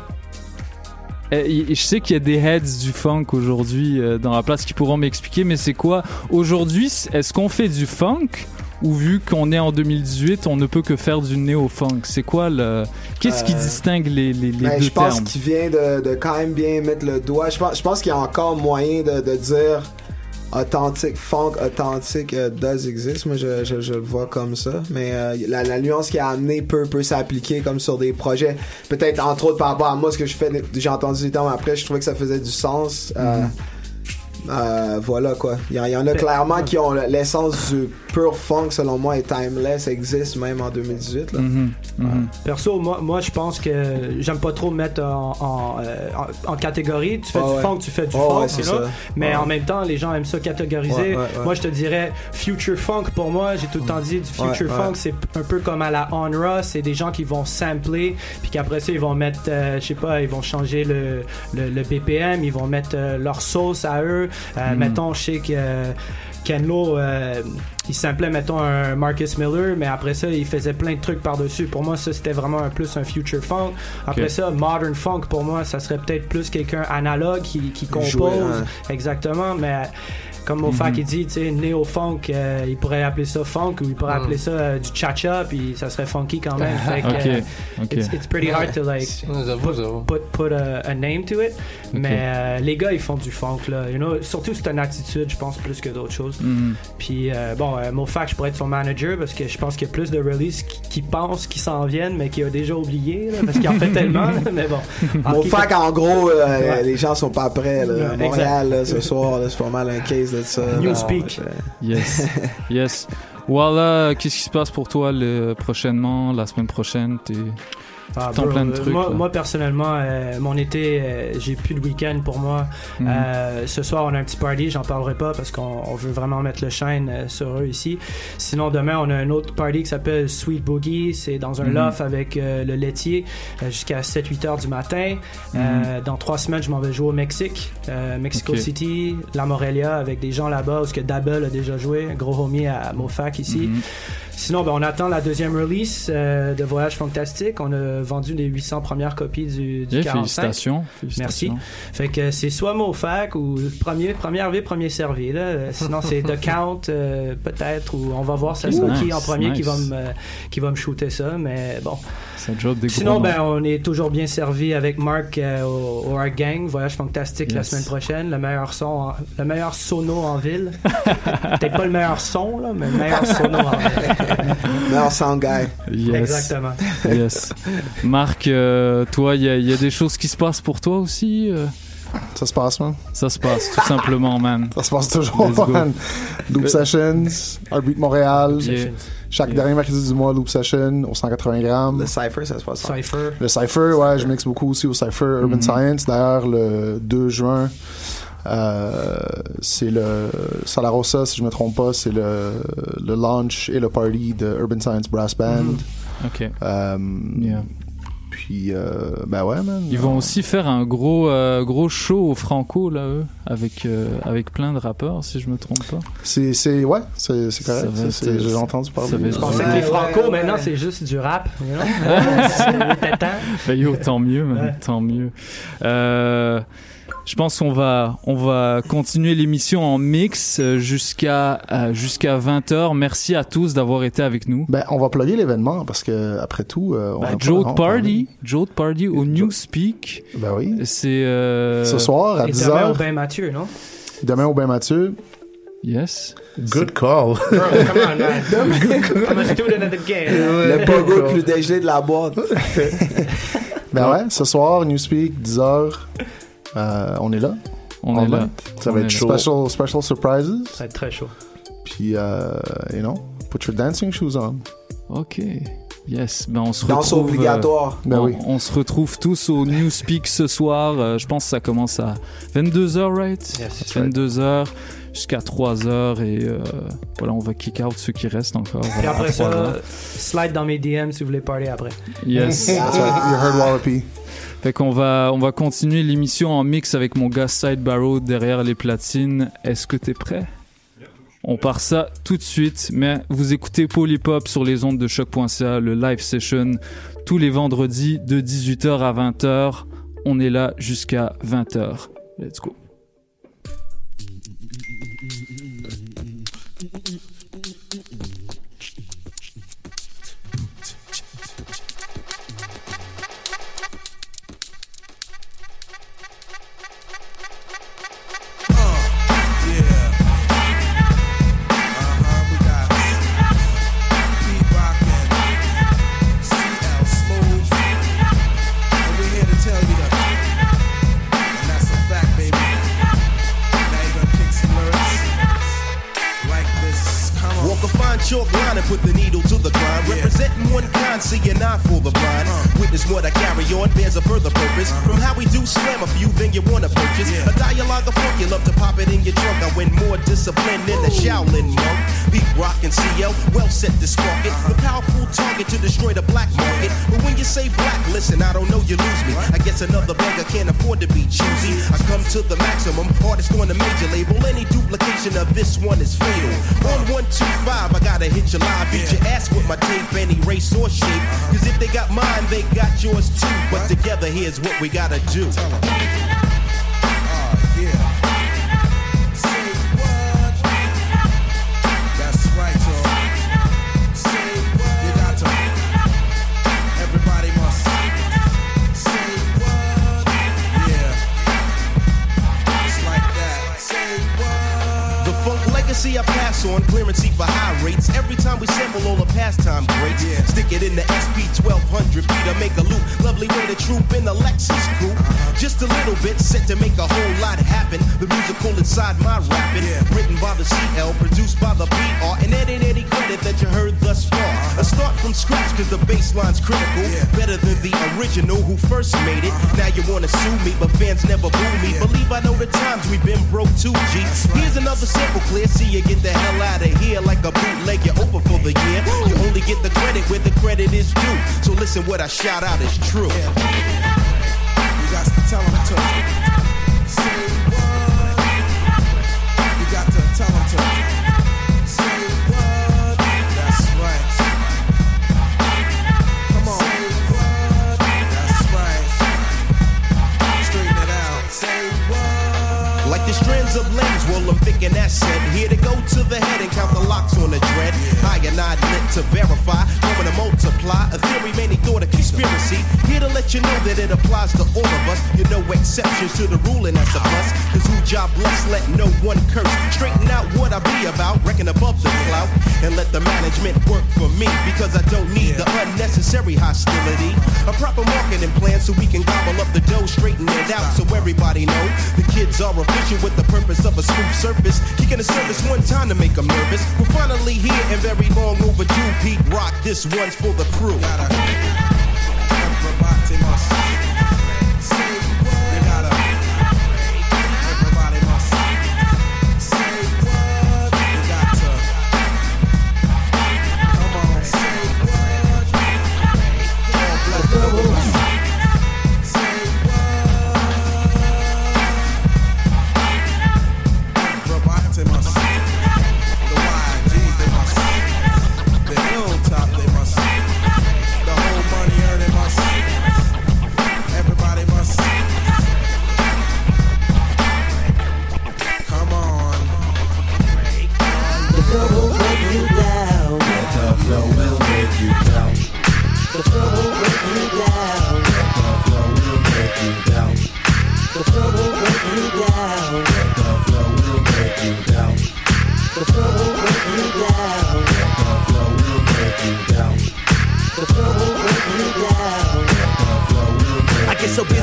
je sais qu'il y a des heads du funk aujourd'hui dans la place qui pourront m'expliquer, mais c'est quoi? Aujourd'hui, est-ce qu'on fait du funk? Ou vu qu'on est en 2018, on ne peut que faire du néo-funk? C'est quoi qu'est-ce qui distingue les deux termes? Je pense qu'il vient de quand même bien mettre le doigt. Je pense qu'il y a encore moyen de dire authentique, funk authentique does exist. Moi, je le vois comme ça. Mais la nuance qu'il a amené peut s'appliquer comme sur des projets. Peut-être entre autres par rapport à moi, ce que je fais. J'ai entendu des termes après, je trouvais que ça faisait du sens. Voilà quoi. Il y en a clairement qui ont l'essence du pur funk, selon moi, et timeless existe même en 2018 là. Perso, moi je pense que j'aime pas trop me mettre en catégorie. Tu fais du funk, tu fais du funk, c'est là. ça. Mais en même temps, les gens aiment ça catégoriser. Moi je te dirais future funk. Pour moi, j'ai tout le temps dit du future funk, c'est un peu comme à la Onra, c'est des gens qui vont sampler, puis qu'après ça ils vont mettre je sais pas, ils vont changer le BPM, ils vont mettre leur sauce à eux. Mettons, je sais que Ken Lo, il samplait, mettons, un Marcus Miller, mais après ça, il faisait plein de trucs par-dessus. Pour moi, ça, c'était vraiment plus un future funk. Après ça, modern funk, pour moi, ça serait peut-être plus quelqu'un analogue qui compose. Exactement, mais... Comme Mofac il dit, tu sais, néo-funk, il pourrait appeler ça funk ou il pourrait appeler ça du cha-cha, puis ça serait funky quand même. Fait que, it's pretty hard to like put a name to it. Mais les gars, ils font du funk là. You know, surtout c'est une attitude, je pense, plus que d'autres choses. Puis Mofac, je pourrais être son manager parce que je pense qu'il y a plus de releases qui pensent qu'ils s'en viennent, mais qui a déjà oublié là, parce qu'il en fait tellement. Là, mais bon. Mofac, en gros, les gens sont pas prêts. Là. Montréal, là, ce soir, là, c'est pas mal un case de ça. Newspeak. Yes. Voilà, qu'est-ce qui se passe pour toi prochainement, la semaine prochaine? T'es en plein de trucs. Moi personnellement, mon été, j'ai plus de week-end pour moi. Ce soir, on a un petit party, j'en parlerai pas parce qu'on veut vraiment mettre le shine sur eux ici. Sinon, demain, on a un autre party qui s'appelle Sweet Boogie. C'est dans un loft avec le laitier jusqu'à 7-8 heures du matin. Dans 3 semaines, je m'en vais jouer au Mexique, Mexico City, La Morelia, avec des gens là-bas où Double a déjà joué, un gros homie à Mofac ici. Sinon, on attend la deuxième release de Voyage Fantastique. On a vendu les 800 premières copies du 45. Félicitations. Merci. Fait que c'est soit Mofac ou première vie, premier servi. Là. Sinon, c'est The Count, peut-être, ou on va voir ça sera qui en premier qui va me shooter ça. Mais bon. C'est un job des Sinon, on est toujours bien servi avec Marc au Art Gang. Voyage Fantastique la semaine prochaine. Le meilleur sono en ville. Peut-être pas le meilleur son, là, mais le meilleur sono en ville. Meilleur sound guy. Yes. Exactement. Yes. Marc, toi, il y a des choses qui se passent pour toi aussi? Ça se passe, man. Ça se passe, tout simplement, man. Ça se passe toujours, man. Loop Sessions, Heartbeat Montréal. Chaque dernier mercredi du mois, Loop Session, au 180 grammes. Le Cypher, ça se passe. Le Cypher, ouais, je mixe beaucoup aussi au Cypher Urban Science. D'ailleurs, le 2 juin, c'est le Salarossa, si je me trompe pas, c'est le launch et le party de Urban Science Brass Band. Puis ben ouais, man. Ils vont aussi faire un gros show au Franco là, eux, avec plein de rappeurs, si je me trompe pas. C'est correct. J'ai entendu parler. Je pensais que les Franco maintenant c'est juste du rap. You know? Tant mieux, man. Tant mieux. Je pense qu'on va continuer l'émission en mix jusqu'à 20h. Merci à tous d'avoir été avec nous. Ben, on va plugger l'événement parce que après tout, Joe Party au Newspeak. Ben oui. C'est ce soir à 10h. Demain au Bain Mathieu, non? Demain au Bain Mathieu. Yes. Good call. Bro, come on, man. I'm a student of the game. Le pogo le plus dégelé de la boîte. Ben ouais, ce soir, Newspeak, 10h, on est là. On est là. Ça va être chaud. Special surprises. Ça va être très chaud. Puis, you know, put your dancing shoes on. Ok. Yes, ben on se Danse retrouve. obligatoire. On se retrouve tous au Newspeak ce soir. Je pense que ça commence à 22h, right? Yes, 22h jusqu'à 3h et voilà, on va kick out ceux qui restent encore. Et après ça, slide dans mes DM si vous voulez parler après. Yes. That's right. You heard Wallopy. Fait qu'on va continuer l'émission en mix avec mon gars Side Barrow derrière les platines. Est-ce que t'es prêt? On part ça tout de suite, mais vous écoutez Polypop sur les ondes de choc.ca, le live session, tous les vendredis de 18h à 20h. On est là jusqu'à 20h. Let's go. Chalk line and put the needle to the grind. Representing one kind, see an eye for the blind. Witness what I carry on bears a further purpose. From how we do slam a few, then you wanna purchase a dialogue of funk. You love to pop it in your trunk. I win more discipline than the Shaolin monk. Beat rock and CL, well set to spark it. The powerful target to destroy the black market. But when you say black, listen, I don't know, you lose me. I guess another beggar can't afford to be choosy. I come to the maximum, artist on the major label. Any duplication of this one is fatal. On 125, I gotta hit your live, beat your ass with my tape, any race or shape. Cause if they got mine, they got yours too. But together, here's what we gotta do. See, I pass on clearance for high rates. Every time we sample all the pastime greats, stick it in the SP 1200 beat to make a loop. Lovely way to troop in the Lexus coupe. Just a little bit set to make a whole lot happen. The musical inside my rapping, written by the CL, produced by the PR, and that ain't any credit that you heard thus far. I start from scratch cause the bassline's critical. Better than the original who first made it. Now you wanna sue me, but fans never boo me. Believe I know the times we've been broke too, G. Here's another sample clear. See you get the hell out of here like a bootleg. You're over for the year. You only get the credit where the credit is due. So listen, what I shout out is true. You got to tell them to say what. You got to tell them to say what. That's right. Come on. Say what. That's right. Straighten it out. Say what. Like the strands of lens, well, I'm thinking that's said. Here to go to the head and count the locks on the dread. I and I lit to verify, going to multiply. A theory many thought a conspiracy. Here to let you know that it applies to all of us. You know exceptions to the rule and that's a plus. Cause who job blessed, let no one curse. Straighten out what I be about, reckon above the clout. And let the management work for me. Because I don't need the unnecessary hostility. A proper marketing plan so we can gobble up the dough, straighten it out so everybody know. The kids are official with the purpose of a smooth surface. Kicking the service one time to make them nervous. We're finally here and very long overdue. Pete Rock, this one's for the crew. Everybody must say what. You gotta. Everybody must say what. You got to. Come on, say what. Oh, bless the Lord. Say what. Everybody must. The YGs, they must. The Hilltop, they must. The whole money earning must.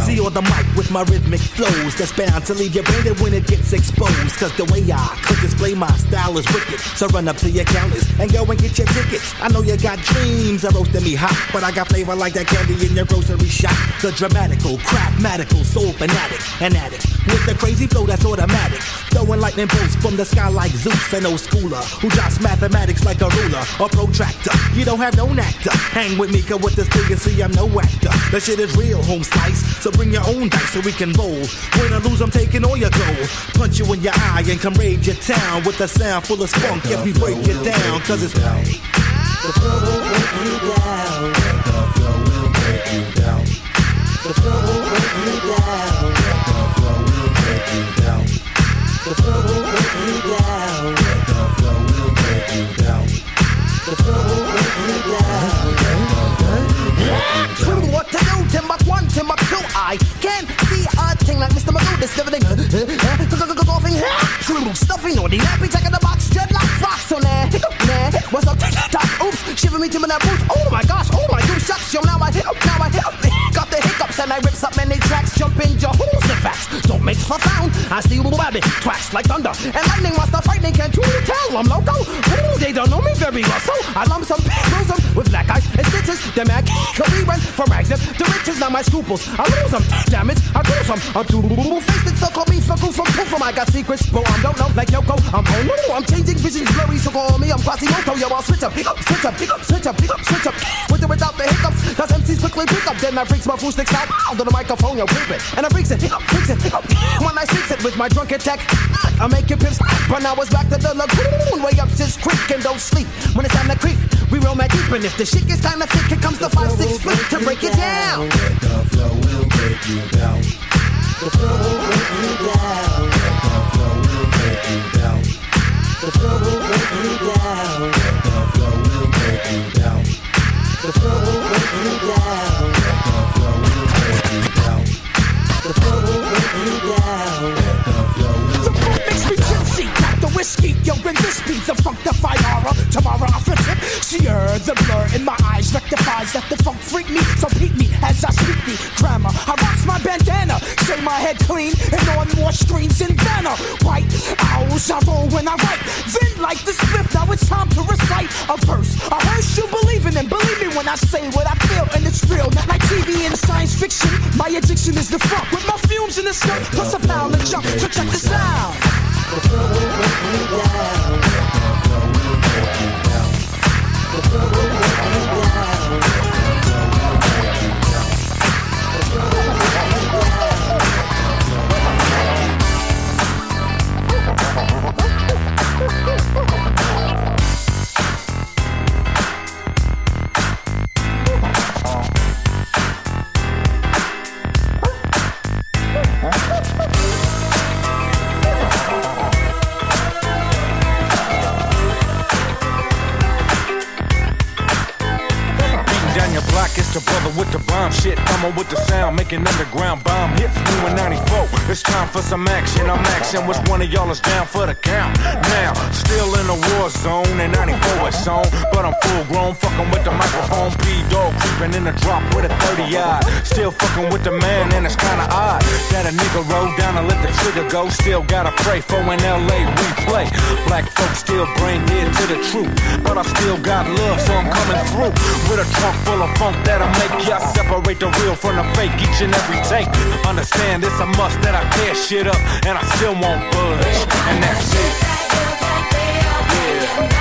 MC on the mic with my rhythmic flows that's bound to leave you branded when it gets exposed. Cause the way I could display my style is wicked. So run up to your counters and go and get your tickets. I know you got dreams of roasting me hot, but I got flavor like that candy in your grocery shop. The dramatical, craftmatical, soul fanatic, an addict with the crazy flow that's automatic. Throwing lightning bolts from the sky like Zeus, an old schooler who drops mathematics like a ruler or protractor. You don't have no actor. Hang with me, cause with this thing you see I'm no actor. The shit is real, home slice. So bring your own dice so we can roll. Win or lose, I'm taking all your gold. Punch you in your eye and come raid your town with a sound full of spunk. If we break it down, cause it's the flow will break you down. The flow will break you down. The flow will break you down. The flow will break you down. The flow will break you down. The flow will break you down. The flow will break you down. True, what to do? Timbuk 1, Timbuk 2. I can see a thing like Mr. Magoo. This never thing. True, stuffing or the nappy, checking the box, dreadlock, fox. So nah, what's up? Tick-tock, oops, shiver me to my boots. Oh my gosh, oh my goose shucks. Yo, now I got the hiccups and I rips up many tracks. Jump in your holes, the facts. Don't make for sound. I see little rabbit, twacks like thunder. And lightning while the frightening, can't you tell I'm loco? Ooh, they don't know me very well, so I lump some bruise them with black eyes and stitches. Them I career run from rags up to riches. Now my scruples, I lose them. Damn it, I lose them. I'm too faced it, so call me from from I got secrets, bro. I don't know, like Yoko. I'm I'm changing visions blurry, so call me. I'm Quasimodo, yo. I'll switch up, switch up, switch up, switch up. With or without the hiccups, cause MCs quickly pick up. Then I freaks my fool sticks out on the microphone, yo, creep it. And I freaks it, freaks it. When I freaks it with my drunk attack, I make it pips. But now it's back to the lagoon, way up this creek and don't sleep. When it's time to creep, we roll my deep. And if the shit gets kinda thick, here comes the 5-6 flip to break it down. The flow will break you down. The flow will break you down. The flow will break you down. The flow will break you down. The flow will break you down. The flow will break you down. The flow will break you down. The flow will break you down. The flow will. The funk makes me tipsy, not the whiskey. Yo, bring this beat, the funkified aura. Tomorrow I flip it. See the blur in my eyes rectifies that the funk freak me. So peep me as I speak the grammar. I rocks my bandana, say my head clean, and on more screens than Vanna. White owls, I roll when I write. Then like the spliff, now it's time to recite a verse. A hearse you believe in, and believe me when I say what I feel, and it's real. Not like TV and science fiction. My addiction is the funk with my fumes in the skirt, plus a pound of jump. So check this out. The flow will break you down. The flow will break you down. The flow will break you down. The flow will break you down. The flow will break you down. It's the brother with the bomb shit, coming with the sound, making underground bomb hits. New in 94, it's time for some action. I'm action, which one of y'all is down for the count? Now, still in the war zone, and 94 is on, but I'm full grown, fucking with the microphone. P-Dog creeping in the drop with a 30-odd. Still fucking with the man, and it's kinda odd that a nigga roll down and let the trigger go. Still gotta pray for an LA replay. Black folks still brain dead to the truth, but I still got love, so I'm coming through with a trunk full of funk that'll make ya separate the real from the fake each and every take. Understand it's a must that I tear shit up and I still won't budge, and that's it. Yeah.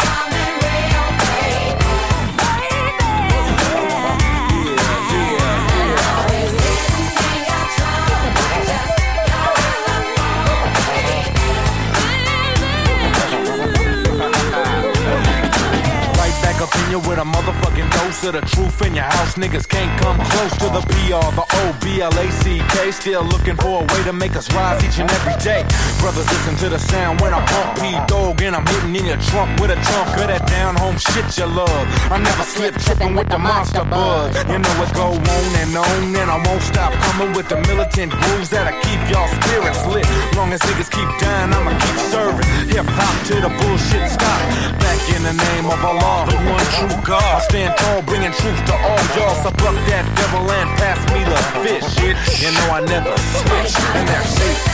Up in you with a motherfucking dose of the truth in your house. Niggas can't come close to the PR, the O-B-L-A-C-K. Still looking for a way to make us rise each and every day. Brothers, listen to the sound when I pump P-Dog and I'm hitting in your trunk with a chunk of that down-home shit you love. I never slip tripping with the monster buzz. You know it go on, and I won't stop coming with the militant grooves that'll keep y'all spirits lit. Long as niggas keep dying, I'ma keep serving hip-hop till the bullshit stop. Back in the name of Allah, the one true God. I stand tall, bringing truth to all y'all. So buck that devil and pass me the fish. You know I never switch, and that's it.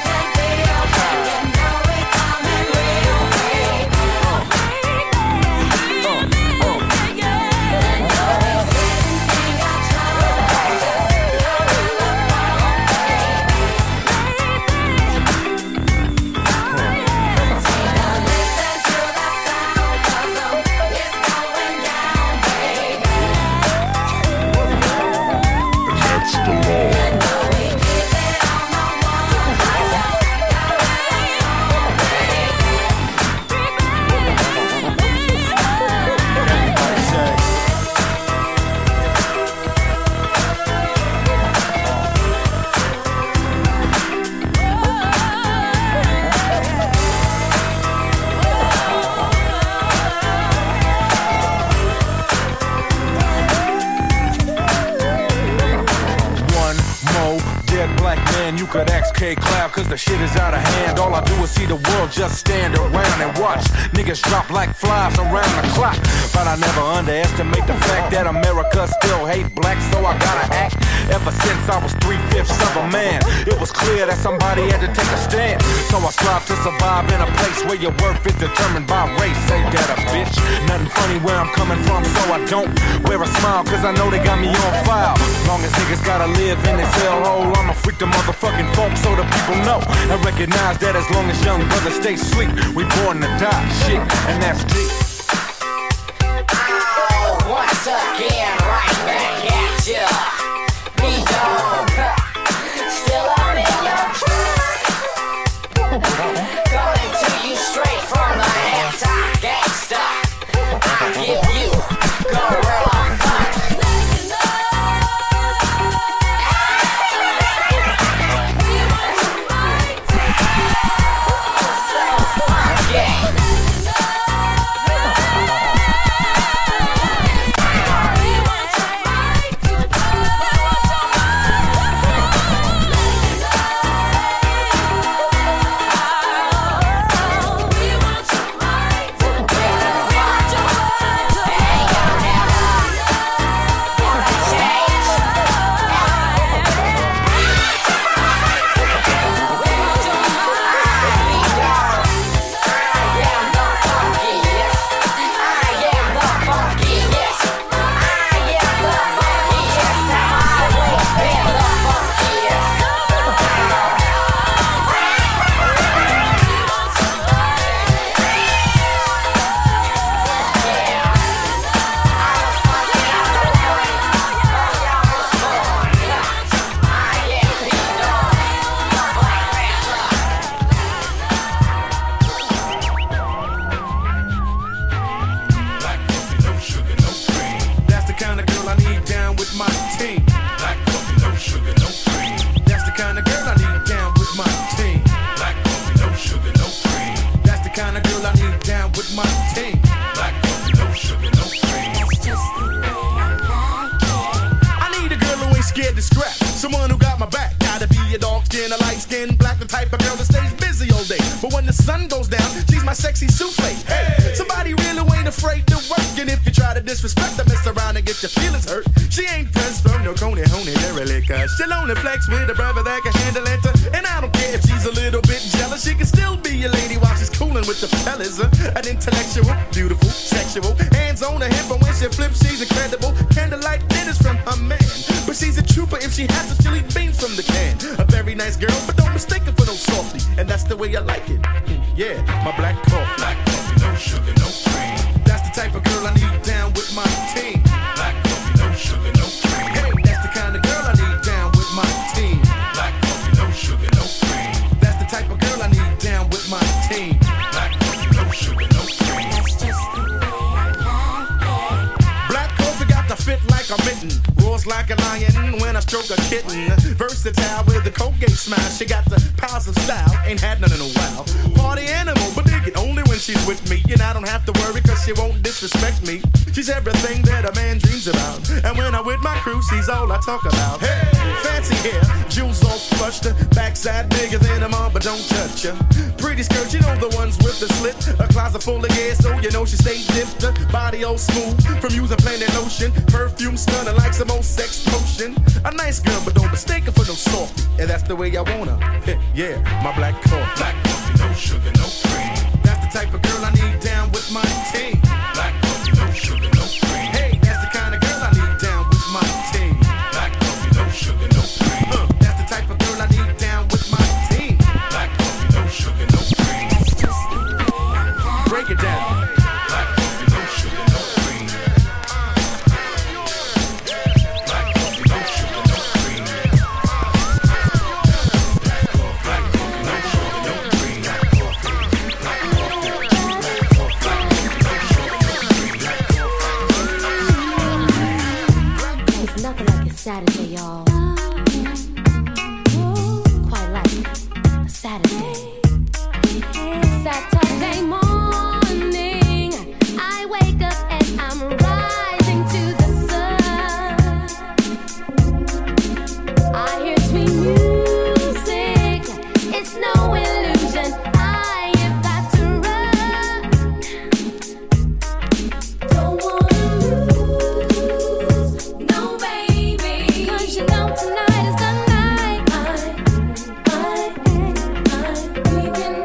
Could ask K-Cloud, cause the shit is out of hand. All I do is see the world just stand around and watch niggas drop like flies around the clock. But I never underestimate the fact that America still hate blacks, so I gotta act. Ever since I was 3/5 of a man, it was clear that somebody had to take a stand. So I strive to survive in a place where your worth is determined by race. Ain't that a bitch? Nothing funny where I'm coming from, so I don't wear a smile, cause I know they got me on file. Long as niggas gotta live in this hellhole, I'ma freak the motherfucking folk so the people know and recognize that as long as young brothers stay asleep, we born to die. Shit, and that's deep. Oh, once again, right back at ya. B-Dog, still up in your coming to you straight from the anti-gangsta. I give you gorilla fuck. She'll only flex with a brother that can handle it. And I don't care if she's a little bit jealous. She can still be a lady while she's cooling with the fellas. An intellectual, beautiful, sexual. Hands on her hip, but when she flips, she's incredible. Candlelight dinners from her man. But she's a trooper if she has to chili beans from the can. A very nice girl, but don't mistake her for no softy. And that's the way I like it. Yeah, my black coffee. Black coffee, no sugar, no cream. That's the type of girl I need down with my team. Black coffee, no sugar, no cream. Hey, that's the kind of girl I need down with my team. Black coffee, no sugar, no cream. That's the type of girl I need down with my team. Black coffee, no sugar, no cream. That's just the way I like it. Black coffee got to fit like a mitten. Roars like a lion when I stroke a kitten. Versatile with the Colgate smile. She got the powers of style. Ain't had none in a while. Party animal, but dig it only when she's with me. And I don't have to worry cause she won't disrespect me. She's everything that a man dreams about. And when I'm with my crew, she's all I talk about. Hey, fancy hair, jewels all flushed. Backside bigger than a mom, but don't touch her. Pretty pretty skirt, you know the ones with the slit. A closet full of gas, so you know she stay dipped. Body all smooth from using Planet Lotion. Perfume stunning like some old sex potion. A nice girl, but don't mistake her for no softy. And that's the way I want her. Yeah, my black coffee. Black coffee, no sugar, no cream. That's the type of girl I need down with my team. Black coffee, no sugar, no cream. Hey, that's the kind of girl I need down with my team. Black coffee, no sugar, no cream. That's the type of girl I need down with my team. Black coffee, no sugar, no cream. Break it down. Black coffee, no sugar, no cream. Black coffee, no sugar, no cream. Black coffee, no sugar, no cream. Black coffee. It's nothing like a Saturday, y'all. Quite like a Saturday. Saturday morning, I wake up and I'm rising to the sun. I hear sweet music, it's no illusion. I have got to run. Don't wanna lose, no baby, 'cause you know tonight is the night. We can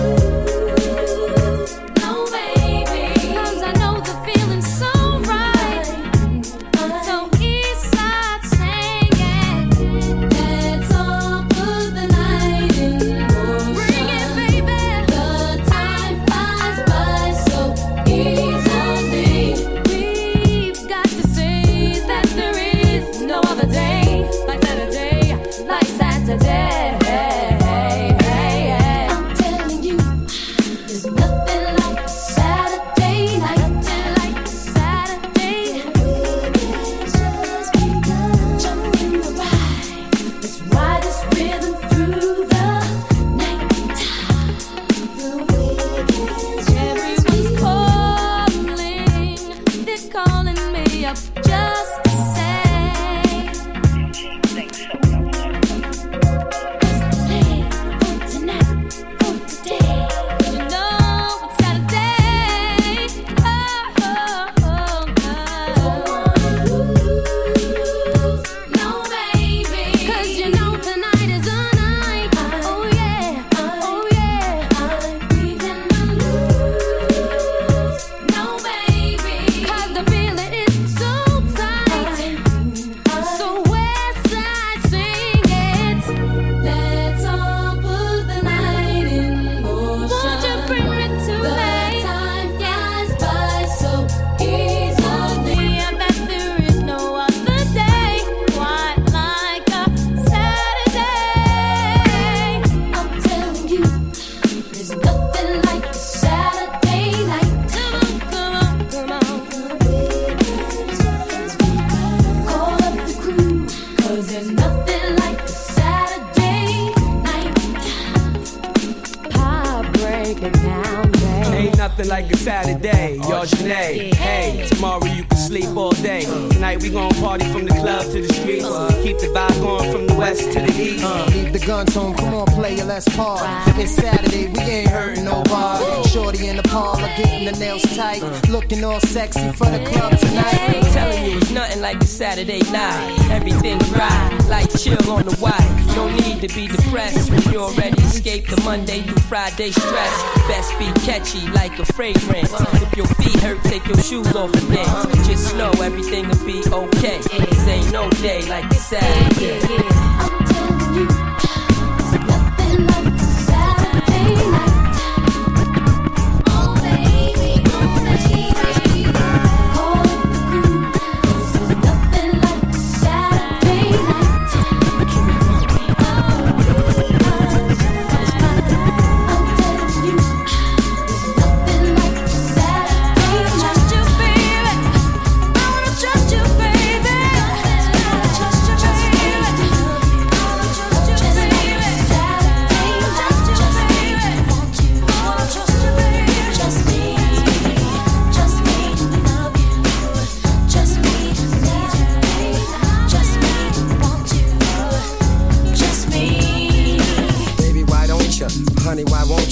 like a Saturday, y'all Janae. Hey, tomorrow you can sleep all day. Tonight we gon' party from the club to the streets. Keep the vibe going from the west to the east. Leave the guns home, come on player, let's party. It's Saturday, we ain't hurting nobody. Shorty in the parlor, getting the nails tight. Looking all sexy for the club tonight. I'm telling you, it's nothing like a Saturday night. Everything's right, like chill on the white. No need to be depressed when you already escaped the Monday through Friday stress. Best be catchy like a fragrance. If your feet hurt, take your shoes off and dance. Just know everything will be okay. This ain't no day like a Saturday. I'm telling you, it's nothing like a Saturday night.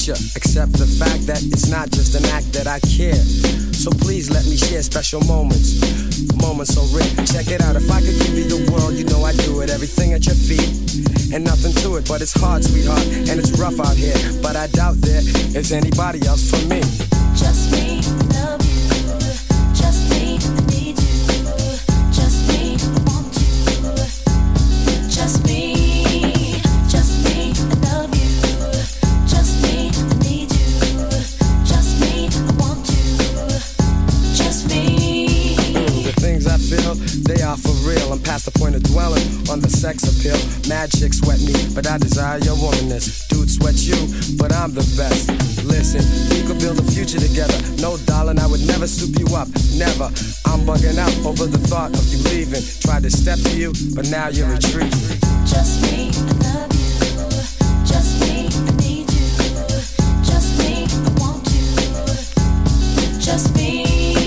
ya. Accept the fact that it's not just an act that I care. So please let me share special moments. Moments so rare. Check it out. If I could give you the world, you know I'd do it. Everything at your feet and nothing to it. But it's hard, sweetheart, and it's rough out here. But I doubt there is anybody else for me. Just me, love you. Just me, need you. Just me, want you. Just me, love you. Just me, need you. Just me, want you. Just me. The things I feel, they are for real. I'm past the point of dwelling on the sex appeal. Mad chicks sweat me, but I desire your womanness. Dude sweat you, but I'm the best. Listen, we could build a future together. No, darling, I would never soup you up. Never. I'm bugging out over the thought of you leaving. Tried to step to you, but now you're retreating. Just me, love you. Just me, need you. Just me, want you. Just me,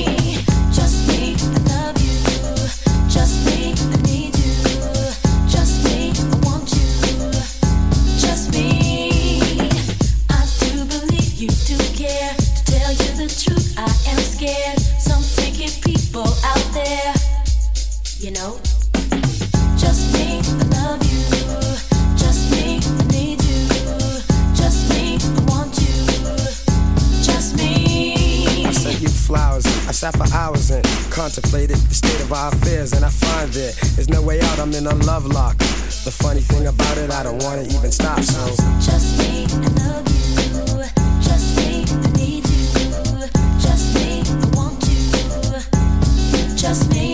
love you. Just me, need you. Just me, want you. Just me. I do believe you do care. To tell you the truth, I am scared. Some freaky people out there, you know. Just me, love you. Just me, need you. Just me, want you. Just me. I sent you flowers, I sat for hours and contemplated the state of our affairs, and I find there is no way out. I'm in a love lock. The funny thing about it, I don't want to even stop. So just me, love you. Just me, need you. Just me, want you. Just me.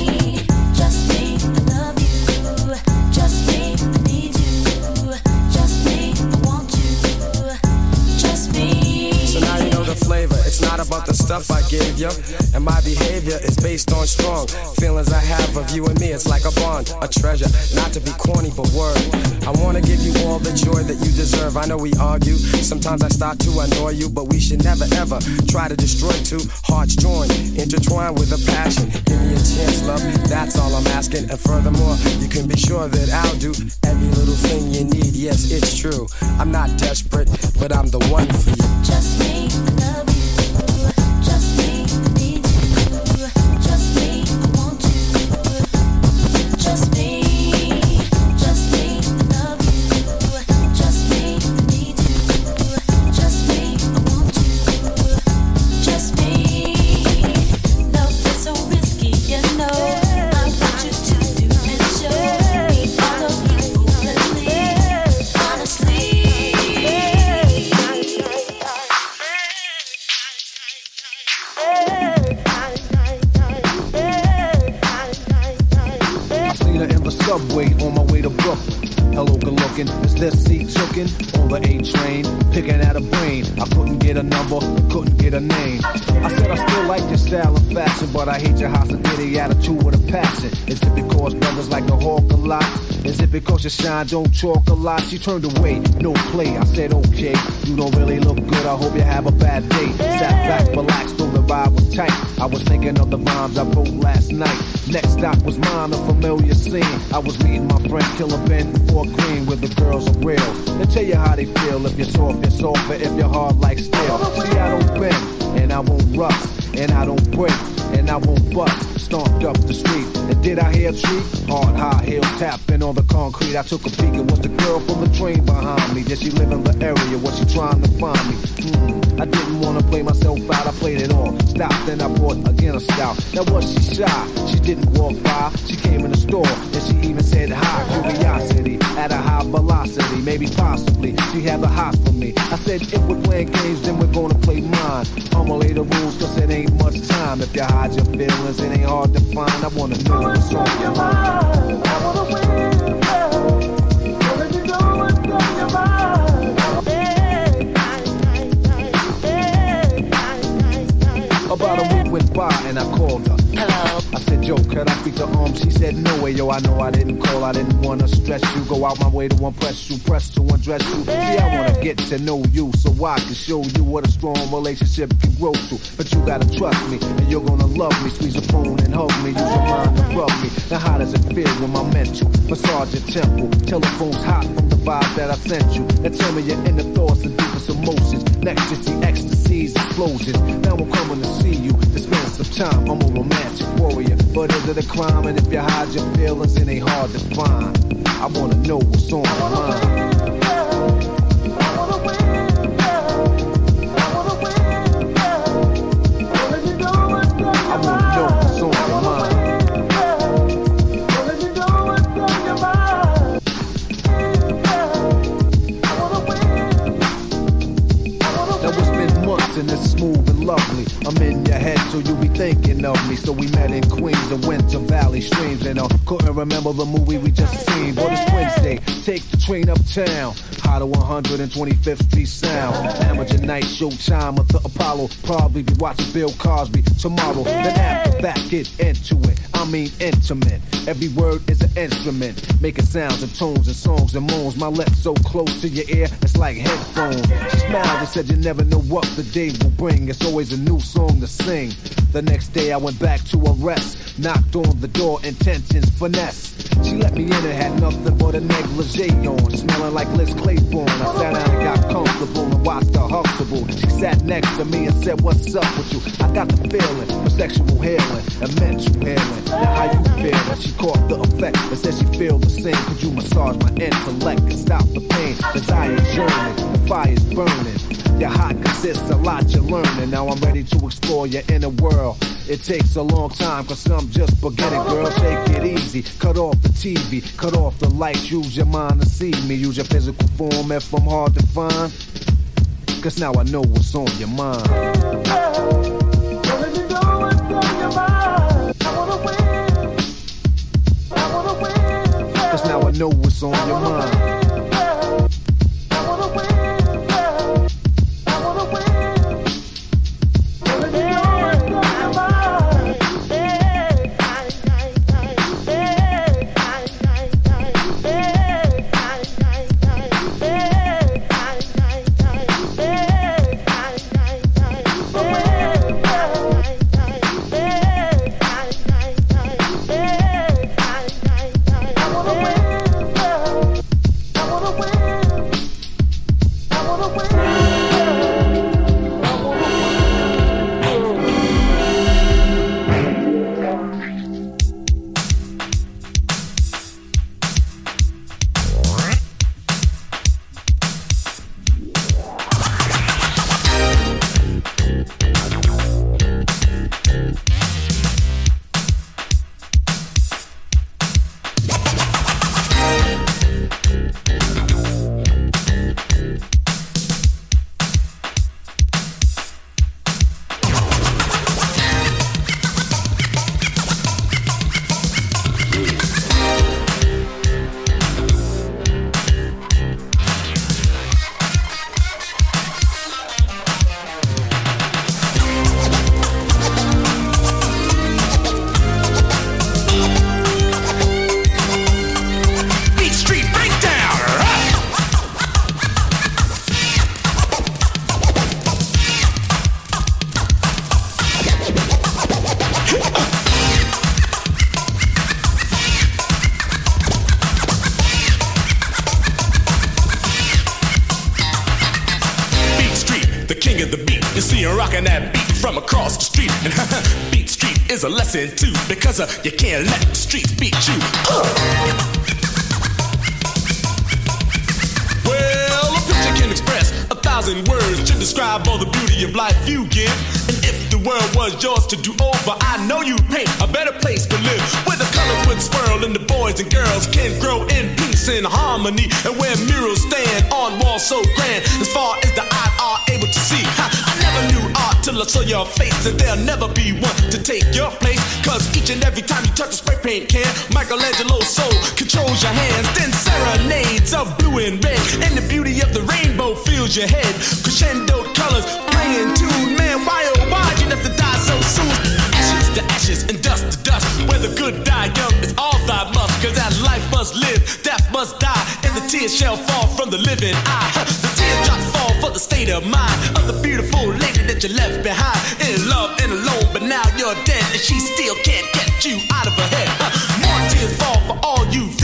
it's not about the stuff I gave you, and my behavior is based on strong feelings I have of you and me. It's like a bond, a treasure, not to be corny but word. I wanna give you all the joy that you deserve. I know we argue, sometimes I start to annoy you, but we should never ever try to destroy two hearts joined, intertwined with a passion. Give me a chance, love, that's all I'm asking. And furthermore, you can be sure that I'll do every little thing you need. Yes, it's true, I'm not desperate, but I'm the one for you. Just me, love you. Just me, need you. Just me, want you. Just me, love you. Just me, need you. Just me, want you. Just me. Love is so risky, you know. I want you to do and show me all of you openly, honestly. Subway on my way to Brooklyn. Hello, good looking. Is this seat tookin' on the A train? Picking at a brain. I couldn't get a number, couldn't get a name. I said I still like your style and fashion, but I hate your hostility attitude with a passion. Is it because brothers like to hawk a lot? Is it because your shine don't talk a lot? She turned away, no play. I said okay, you don't really look good. I hope you have a bad day. Sat back, relaxed, though the vibe was tight. I was thinking of the rhymes I wrote last night. Next stop was mine, a familiar scene. I was meeting my friend Killer Ben before Green, where the girls are real. They tell you how they feel. If you're soft, you're soft, but if you're hard like steel. See, I don't bend, and I won't rust, and I don't break, and I won't bust. Stomped up the street, and did I hear a treat? Hard, high heels tapping on the concrete. I took a peek, it was the girl from the train behind me. Did she live in the area? Was she trying to find me? I didn't want to play myself out, I played it all. Stopped, then I bought again a stout. Now was she shy? She didn't walk by. She came in the store, and she even said hi. Curiosity, at a high velocity, maybe possibly she had the hot for me. I said, if we're playing games, then we're gonna play mine. I'ma lay the rules, cause it ain't much time. If you hide your feelings, it ain't hard to find. I wanna know what's on your mind. I wanna win, what if you know what's on your mind? About a week went by and I called her. Hello. I said, yo, can I speak to She said, no way, yo, I know I didn't call. I didn't want to stress you. Go out my way to impress you, press to undress you. See, I want to get to know you so I can show you what a strong relationship can grow to. But you got to trust me and you're going to love me. Squeeze a phone and hug me. Use your mind to rub me. Now how does it feel when my mental massage your temple? Telephone's hot from the vibe that I sent you. And tell me your inner thoughts and deepest emotions. Next you see ecstasies, explosions. Now I'm coming to see you. To spend some time, I'm a romantic warrior. But is it a crime? And if you hide your feelings, it ain't hard to find. I wanna know what's on your mind. And it's smooth and lovely. I'm in your head, so you be thinking of me. So we met in Queens and went to Valley Streams, and I couldn't remember the movie we just seen. But it's Wednesday, take the train uptown. High to 125th Street Sound. Amateur night, showtime at the Apollo. Probably be watching Bill Cosby tomorrow. Then after that, get into it. I mean intimate. Every word is an instrument, making sounds and tones and songs and moans. My lips so close to your ear, it's like headphones. She smiled and said you never know what the day will bring. It's always a new song to sing. The next day I went back to her rest. Knocked on the door, intentions finesse. She let me in and had nothing but a negligee on, smelling like Liz Claiborne. I sat down and got comfortable and watched her Huxtable. She sat next to me and said, what's up with you? I got the feeling for sexual healing and mental healing. Now how you feeling? She caught the effect and said she feel the same. Could you massage my intellect and stop the pain? Desire's yearning, the fire's burning. Your hot consists a lot you're learning. Now I'm ready to explore your inner world. It takes a long time, cause some just beginning, girl. Take it easy, cut off the TV, cut off the lights, use your mind to see me. Use your physical form if I'm hard to find. Cause now I know what's on your mind. Cause now I know what's on your mind. A lesson too, because you can't let the streets beat you. Well, a picture can express 1,000 words to describe all the beauty of life you give. And if the world was yours to do over, I know you'd paint a better place to live, where the colors would swirl and the boys and girls can grow in peace and harmony, and where murals stand on walls so grand as far as the eye are able to see. I never knew art till I saw your face, and there'll never be one to take your place. Cause each and every time you touch a spray paint can, Michelangelo's soul controls your hands. Then serenades of blue and red, and the beauty of the rainbow fills your head. Crescendo colors playing tune, man, why oh why you have to die so soon? Ashes to ashes and dust to dust, where the good die young is all thy must. Cause as life must live, death must die, and the tears shall fall from the living eye. The teardrops fall for the state of mind of the beautiful lady that you left behind, in love and alone, but now you're dead, and she still can't get you out of her head. More tears fall for all you've done.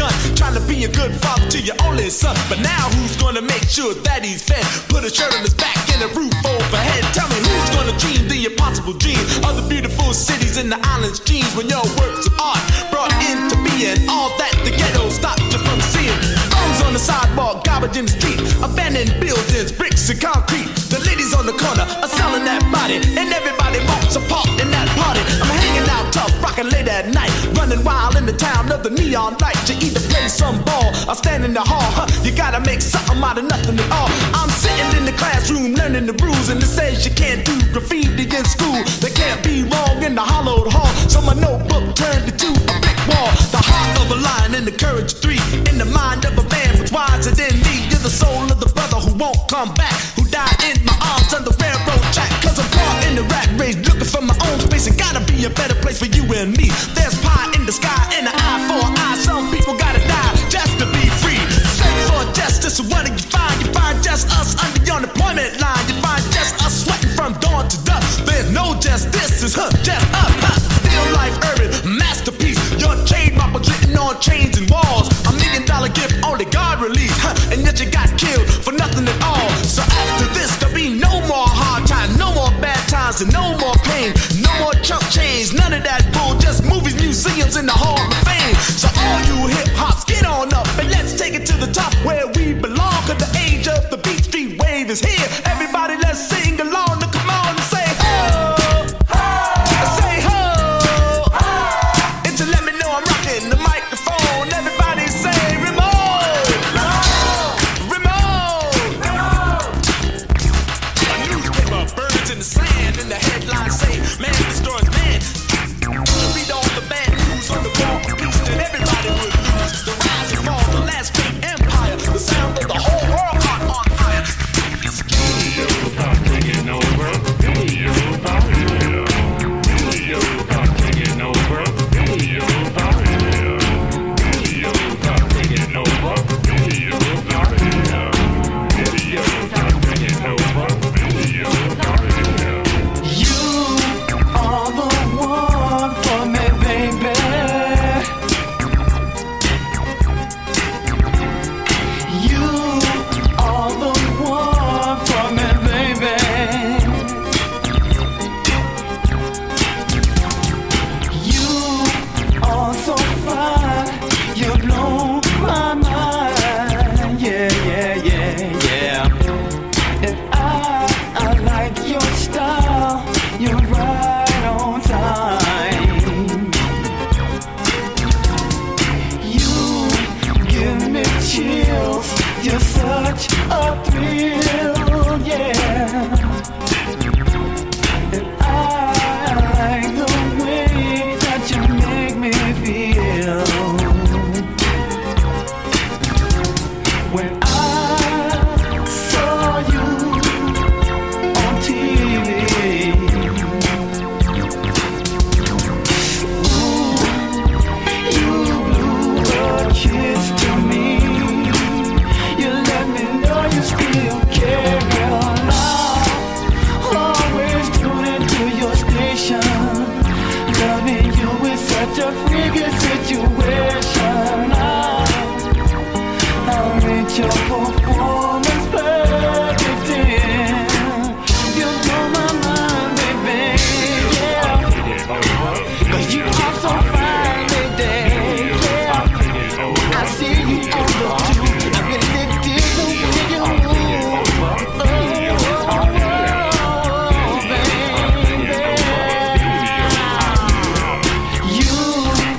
trying to be a good father to your only son. But now who's gonna make sure that he's fed? Put a shirt on his back and a roof overhead. Tell me who's gonna dream the impossible dream of the beautiful cities in the islands' dreams when your works of art brought into being all that the ghetto stopped you from seeing. Bums on the sidewalk, garbage in the street, abandoned buildings, bricks and concrete. The ladies on the corner are selling that body, and everybody wants a part in that party. I'm hanging out tough, rocking late at night, running wild in the town of the neon lights. You either play some ball or stand in the hall, huh? You gotta make something out of nothing at all. I'm sitting in the classroom learning the rules, and it says you can't do graffiti in school. They can't be wrong in the hollowed hall, so my notebook turned into a brick wall. The heart of a lion and the courage of three, in the mind of a man who's wiser than me. You're the soul of the brother who won't come back, who died in my arms on the railroad track. Cause I'm caught in the rat race, looking for my own space. It gotta be a better place for you and me. There's pie in the sky and an eye for an eye. Some people gotta die just to be free. Search for justice, what do you find? You find just us under the unemployment line. You find just us sweating from dawn to dusk. There's no justice, it's just us. Still life urban, masterpiece. Your trademark was written on chains and walls. $1 million gift, only God released. And yet you got killed for nothing at all. So after this, there'll be no more hard times, no more bad times, and no more pain. No more chump change, none of that bull. Just movies, museums, in the Hall of Fame. So all you hip hops, get on up and let's take it to the top where we belong. Cause the age of the Beat Street wave is here. Everybody, let's sing along. Now come on and say ho, ho, say ho, ho. And to let me know I'm rocking the microphone. Everybody say remote, remote. A newspaper burns in the sand and the headlines say man destroys man. Read all the bad news on the wall of peace, then everybody would lose. The rise and fall, the last great empire, the sound of the whole world caught on fire. Taking over. Taking over.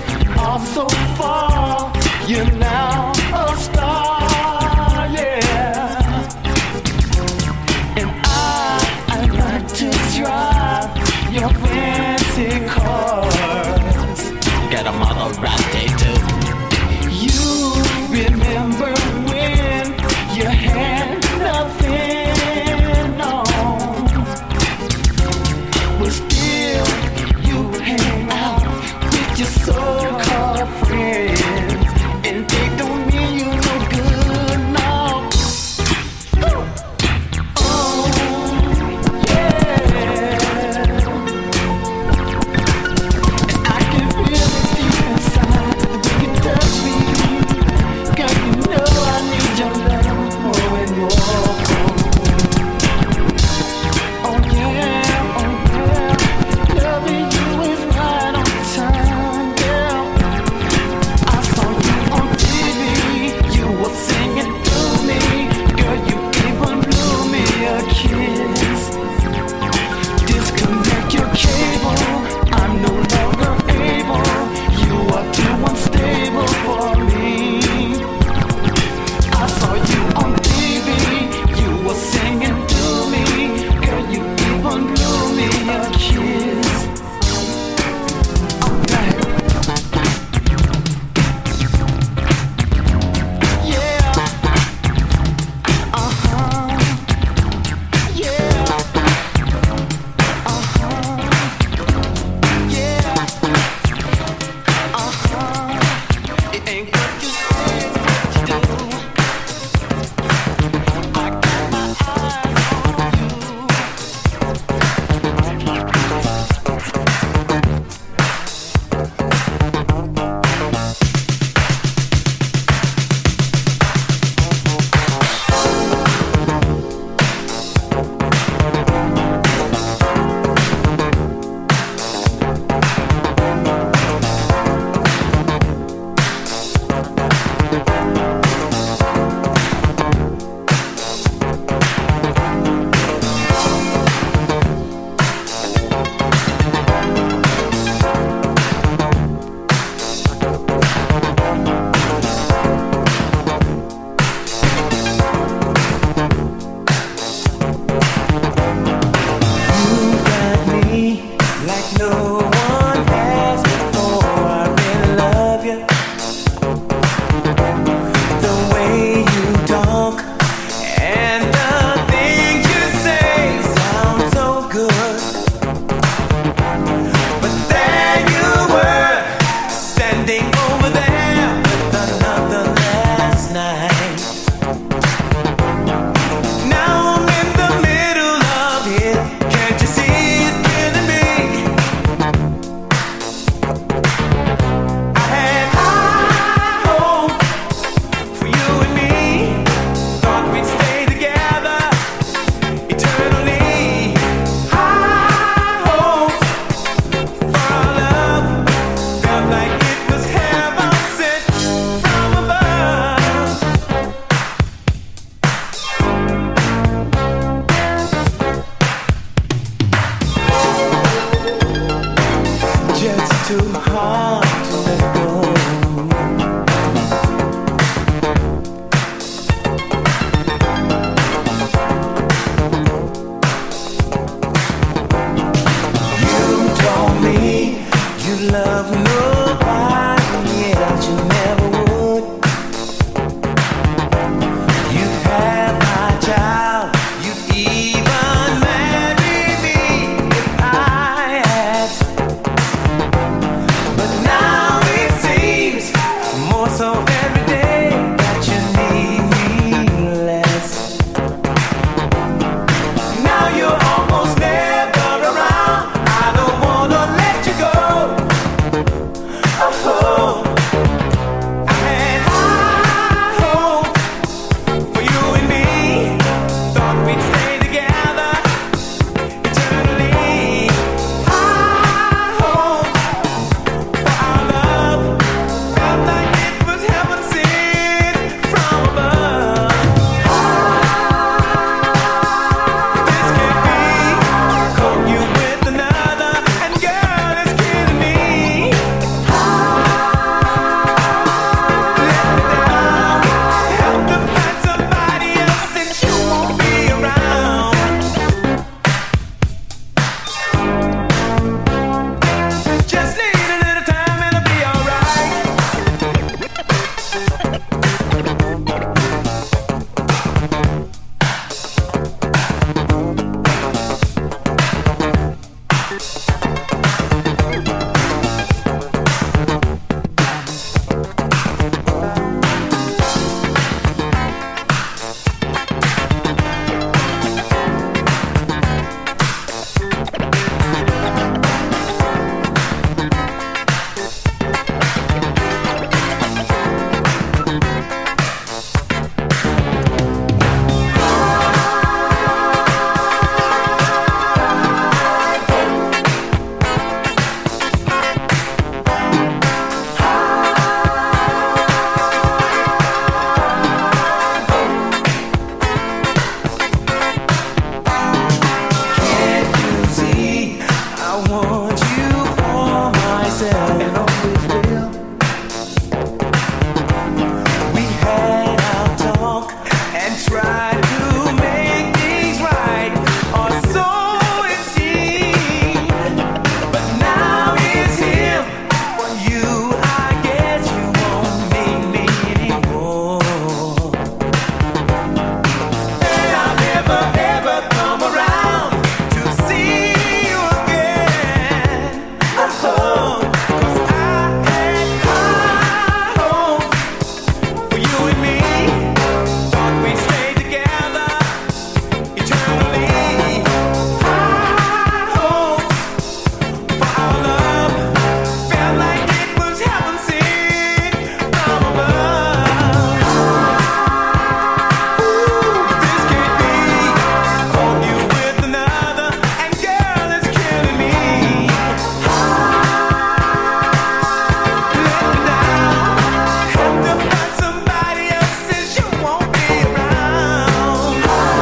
You're now a star, yeah. try to make things right, or so it seemed. But now it's him. For you, I guess you won't need me anymore. And I'll never ever come around to see you again. Oh, 'cause I had high hopes for you and me. Thought we'd stay together eternally. High hopes for our love. Felt like it was heaven sent from above. This can't be. Caught you with another, and girl, it's killing me. Let me down. Have to find somebody else since you won't be around.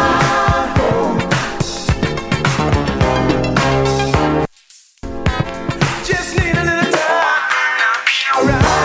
Just need a little time.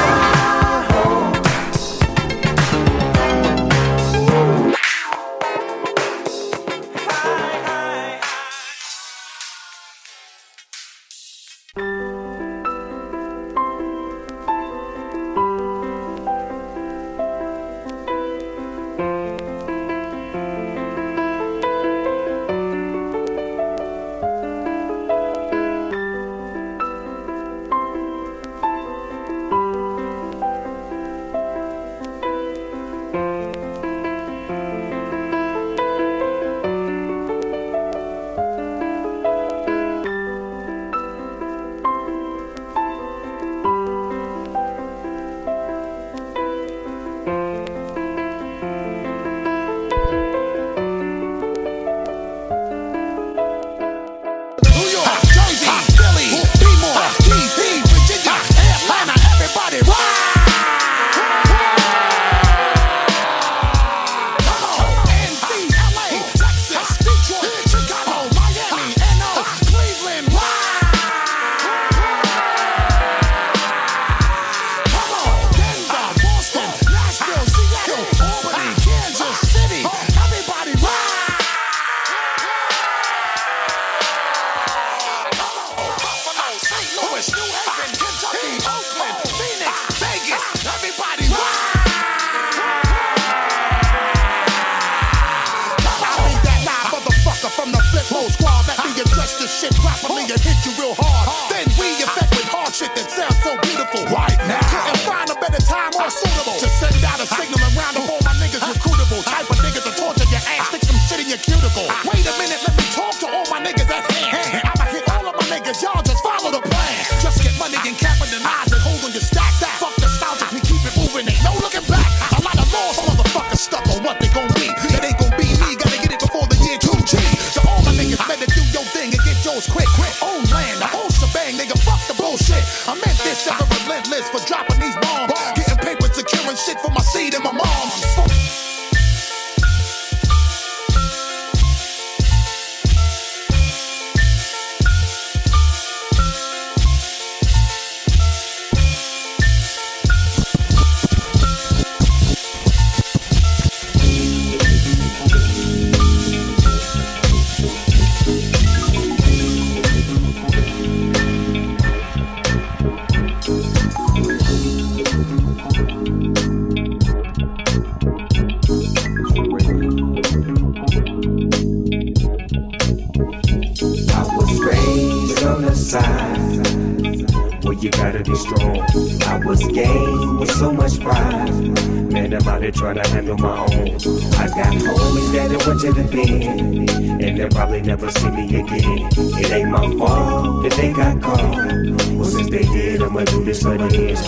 Jersey, Philly, Baltimore, DC, Virginia, Atlanta, everybody Come on, NC, LA, Texas, Detroit, Chicago, Miami, NO, Cleveland, Come on, Denver, Boston, Nashville, Seattle, Albany, Kansas City, everybody Buffalo, St. Louis, New Haven, Kentucky, Oakland, Phoenix, Vegas, everybody I be that live motherfucker from the flip mode squad that be address this shit properly and hit you real hard. Then we effect with hard shit that sounds so beautiful. Right now, couldn't find a better time or suitable to send out a signal around of all my niggas recruitable. Type of niggas to torture your ass, stick some shit in your cuticle. Wait a minute, let me talk to all my niggas at hand. I'ma hit all of my niggas, y'all just follow the plan. Just get money and capitalize and hold on your stack. Fuck nostalgic, we keep it moving, ain't no looking back. A lot of lost motherfuckers stuck on what they gon' be. It ain't gon' be me, gotta get it before the year 2G. So all my niggas better do your thing and get yours quick. Own land, the whole shebang, nigga, fuck the bullshit. I meant this ever relentless for dropping these bombs. Getting paper, securing shit for my seed and my mom's. I was raised on the side where you gotta be strong. I was game with so much pride. Man, I'm out here trying to handle my own. I got homies that don't want to the den, and they'll probably never see me again. It ain't my fault that they got caught. Well, since they did, I'ma do this for the ends.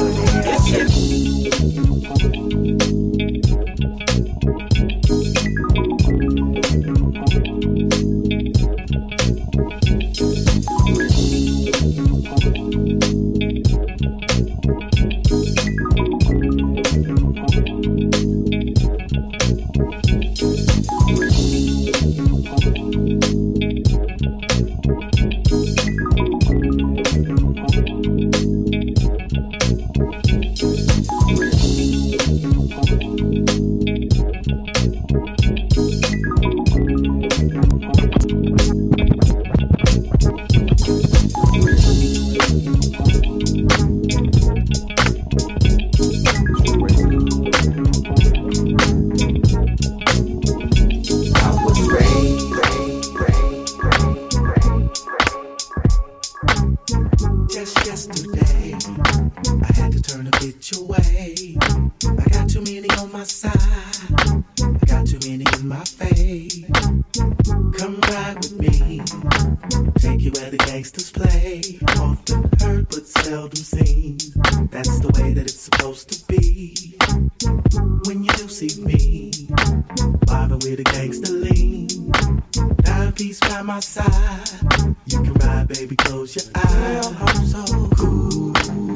my fade. Come ride with me. Take you where the gangsters play. Often heard but seldom seen. That's the way that it's supposed to be. When you do see me, vibing with a gangster lean. Dime piece by my side. You can ride, baby, close your eyes. I'm so cool.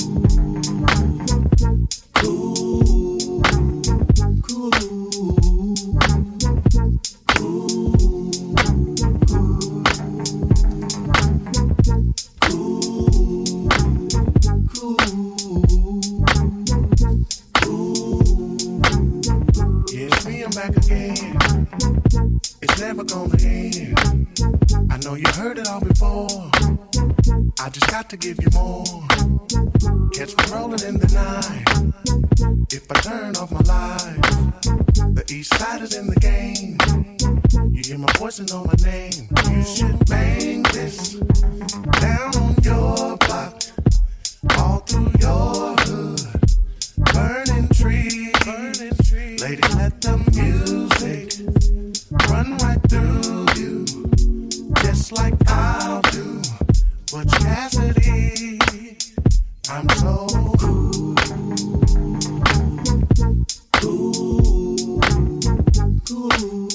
Cool. Cool. Back again, it's never gonna end. I know you heard it all before. I just got to give you more. Catch me rolling in the night. If I turn off my lights, the east side is in the game. You hear my voice and know my name. You should bang this down on your block, all through your hood. Burning trees, ladies, let the music run right through you, just like I'll do. Butch Cassidy, I'm so cool, cool, cool.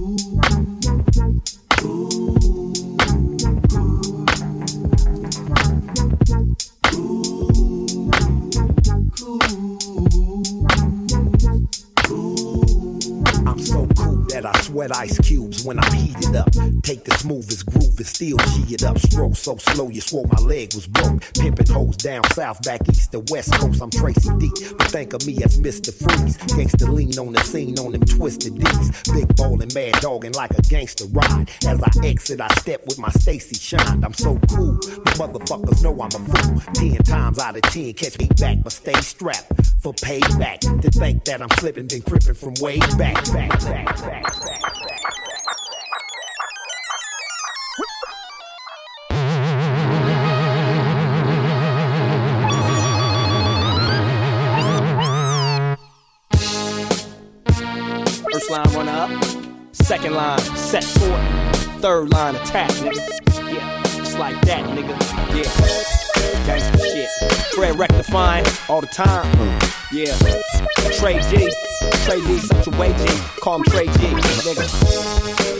I sweat ice cubes when I'm heated up. Take the smoothest groove and still G it up. Stroke so slow you swore my leg was broke. Pimpin' hoes down south, back east to west coast. I'm Tracy D, but think of me as Mr. Freeze. Gangsta lean on the scene on them twisted D's. Big ballin', mad dogging like a gangster ride. As I exit, I step with my Stacy Shine. I'm so cool, but motherfuckers know I'm a fool. 10 times out of 10, catch me back, but stay strapped for payback. To think that I'm slipping, been crippin' from way back. First line run up, second line set forward, third line attack, nigga. Yeah, just like that, nigga. Yeah, gangsta shit. Fred rectifying all the time. Yeah, Trey G, such a way G. Call him Trey G, nigga.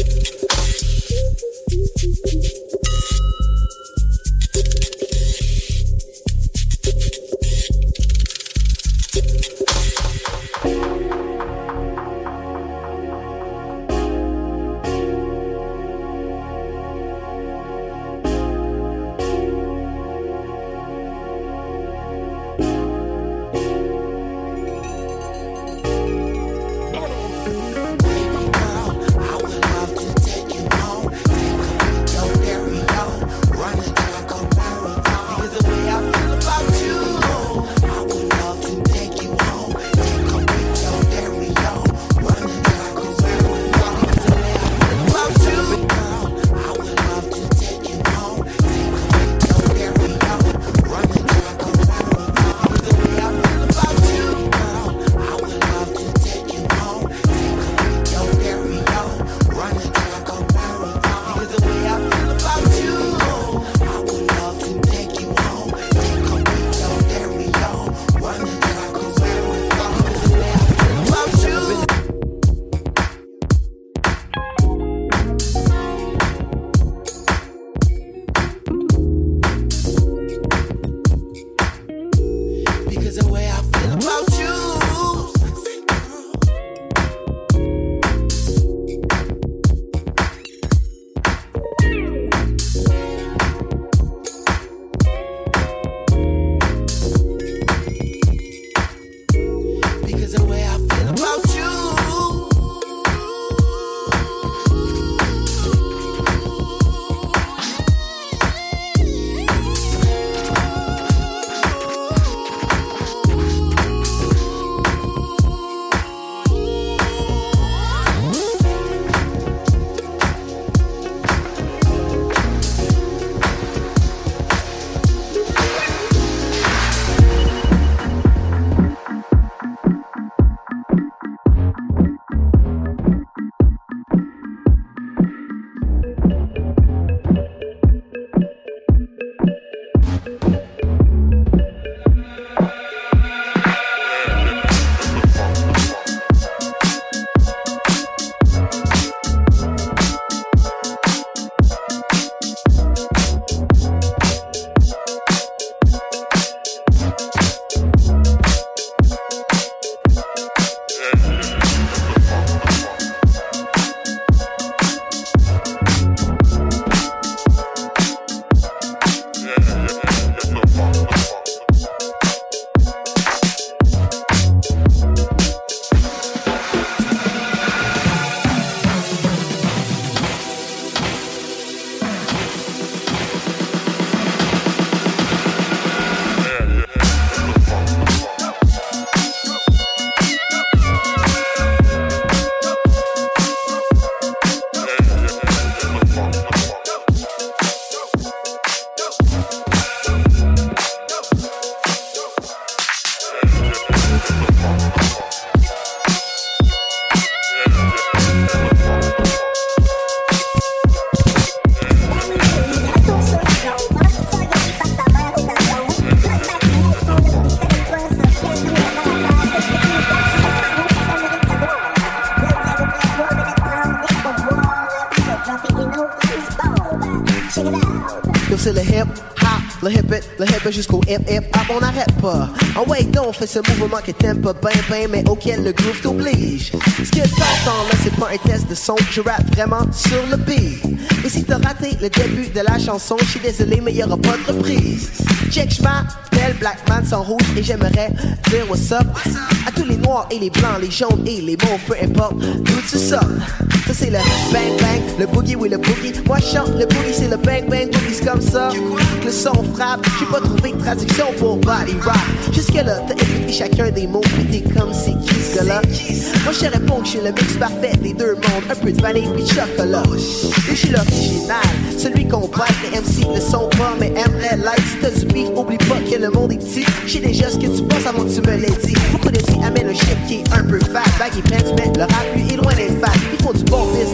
C'est le hip hop, le hip it jusqu'au hip hop, on n'arrête pas. En way donc, on fait ce mouvement qui t'aime pas ben, mais auquel le groove t'oblige. Ce que t'entends là, c'est pas un test de son, je rappe vraiment sur le beat. Et si t'as raté le début de la chanson, je suis désolé, mais y'aura pas de reprise. Check, j'm'appelle Blackman sans rouge et j'aimerais dire what's up à tous les noirs et les blancs, les jaunes et les mauves, peu importe d'où tu sors. Ça c'est le bang bang, le boogie, oui le boogie. Moi je chante le boogie, c'est le bang bang, boogie c'est comme ça. Que le son frappe, j'ai pas trouvé de traduction pour body rock. Jusque là, t'as écouté chacun des mots, pis t'es comme c'est qui ce gars-là. Moi je te réponds que je suis le mix parfait des deux mondes, un peu de vanille pis de chocolat. Et je suis l'original, celui qu'on bat, les MC ne sont pas, mais aimeraient like. Si t'as du beef, oublie pas que le monde est petit. J'sais déjà ce que tu penses avant que tu me l'aies dit. Beaucoup de filles amènent un shit qui est un peu fat. Baggy pants, mais le rap lui est loin d'être fat. Ils font du bon business,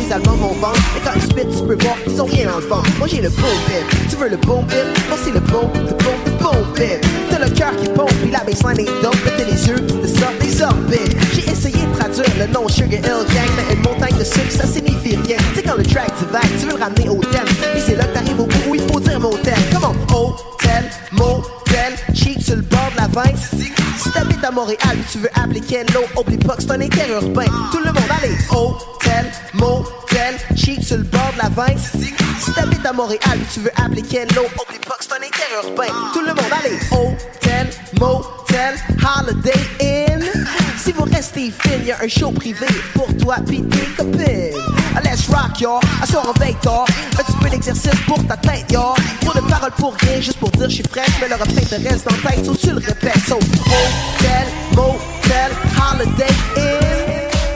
les albums vont vendre. Mais quand ils spit, tu peux voir qu'ils ont rien dans le ventre. Moi j'ai le boom bip, tu veux le boom bip? Moi c'est le boom bip. T'as le cœur qui pompe, puis la baseline est dope. T'as les yeux de ça, des orbites. J'ai essayé de traduire le nom Sugar Hill Gang, mais une montagne de sucre, ça signifie rien. Tu sais quand le track divague, tu veux le ramener au thème. Et c'est là que t'arrives au bout où il faut dire motel. Comment? Hôtel, motel, chic sur le bord de la Vine. Si t'habites à Montréal, tu veux appeler Kenlo, oublie pas que c'est un interurbain. Tout le monde, allez, hôtel, motel, chic sur le bord de la Vine. Si t'habites à Montréal, tu veux appeler Kenlo, oublie pas que c'est un interurbain. Tout le monde, allez, hôtel, motel, Holiday Inn. Si vous restez fine, y'a un show privé pour toi pis tes copines. Let's rock, y'all, asseoir en veille tard. Un petit peu d'exercice pour ta tête, y'all. Trop de paroles pour rien, juste pour dire je suis fraîche. Mais le refrain te reste dans la tête, so tu le répètes. So, hotel, motel, Holiday Inn.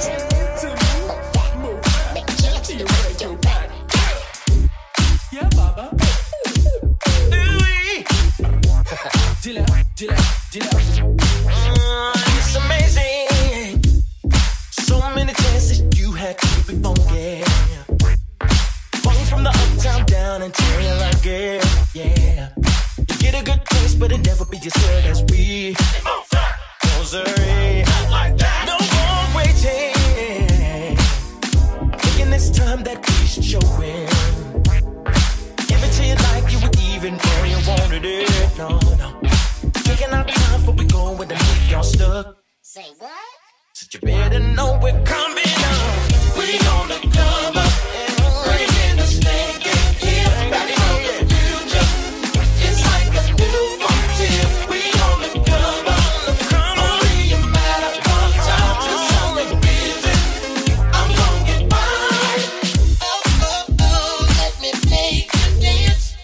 Yeah, Baba. It's amazing. So many chances you had to be funky. Funk from the uptown down until I get, yeah. You get a good taste, but it never be as good as we. Rosary. No more waiting. Thinking this time that we should show it. Give it to you like you would even when you wanted it. No, no. Taking our time before we go with the leave y'all stuck. Say what? So you better know we're coming up. We gonna come up. Bring in the snake and here. Back from the future. It's like a new frontier. We gonna come up. Only a matter of time. Just only busy. I'm gonna get by. Let me make you dance.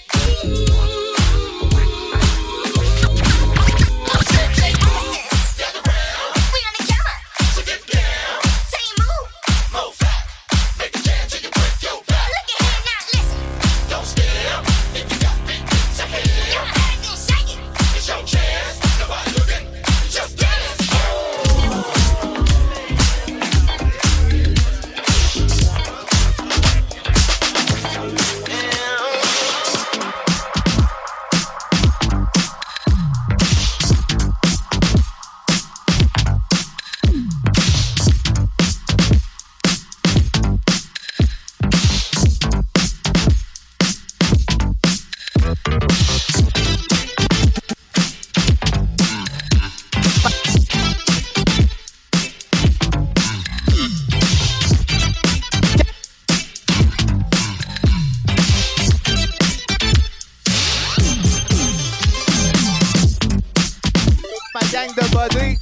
Gang de body.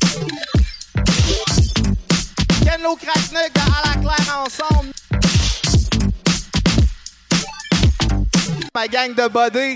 Kenlo Crackneck à la claire ensemble. Ma gang de body.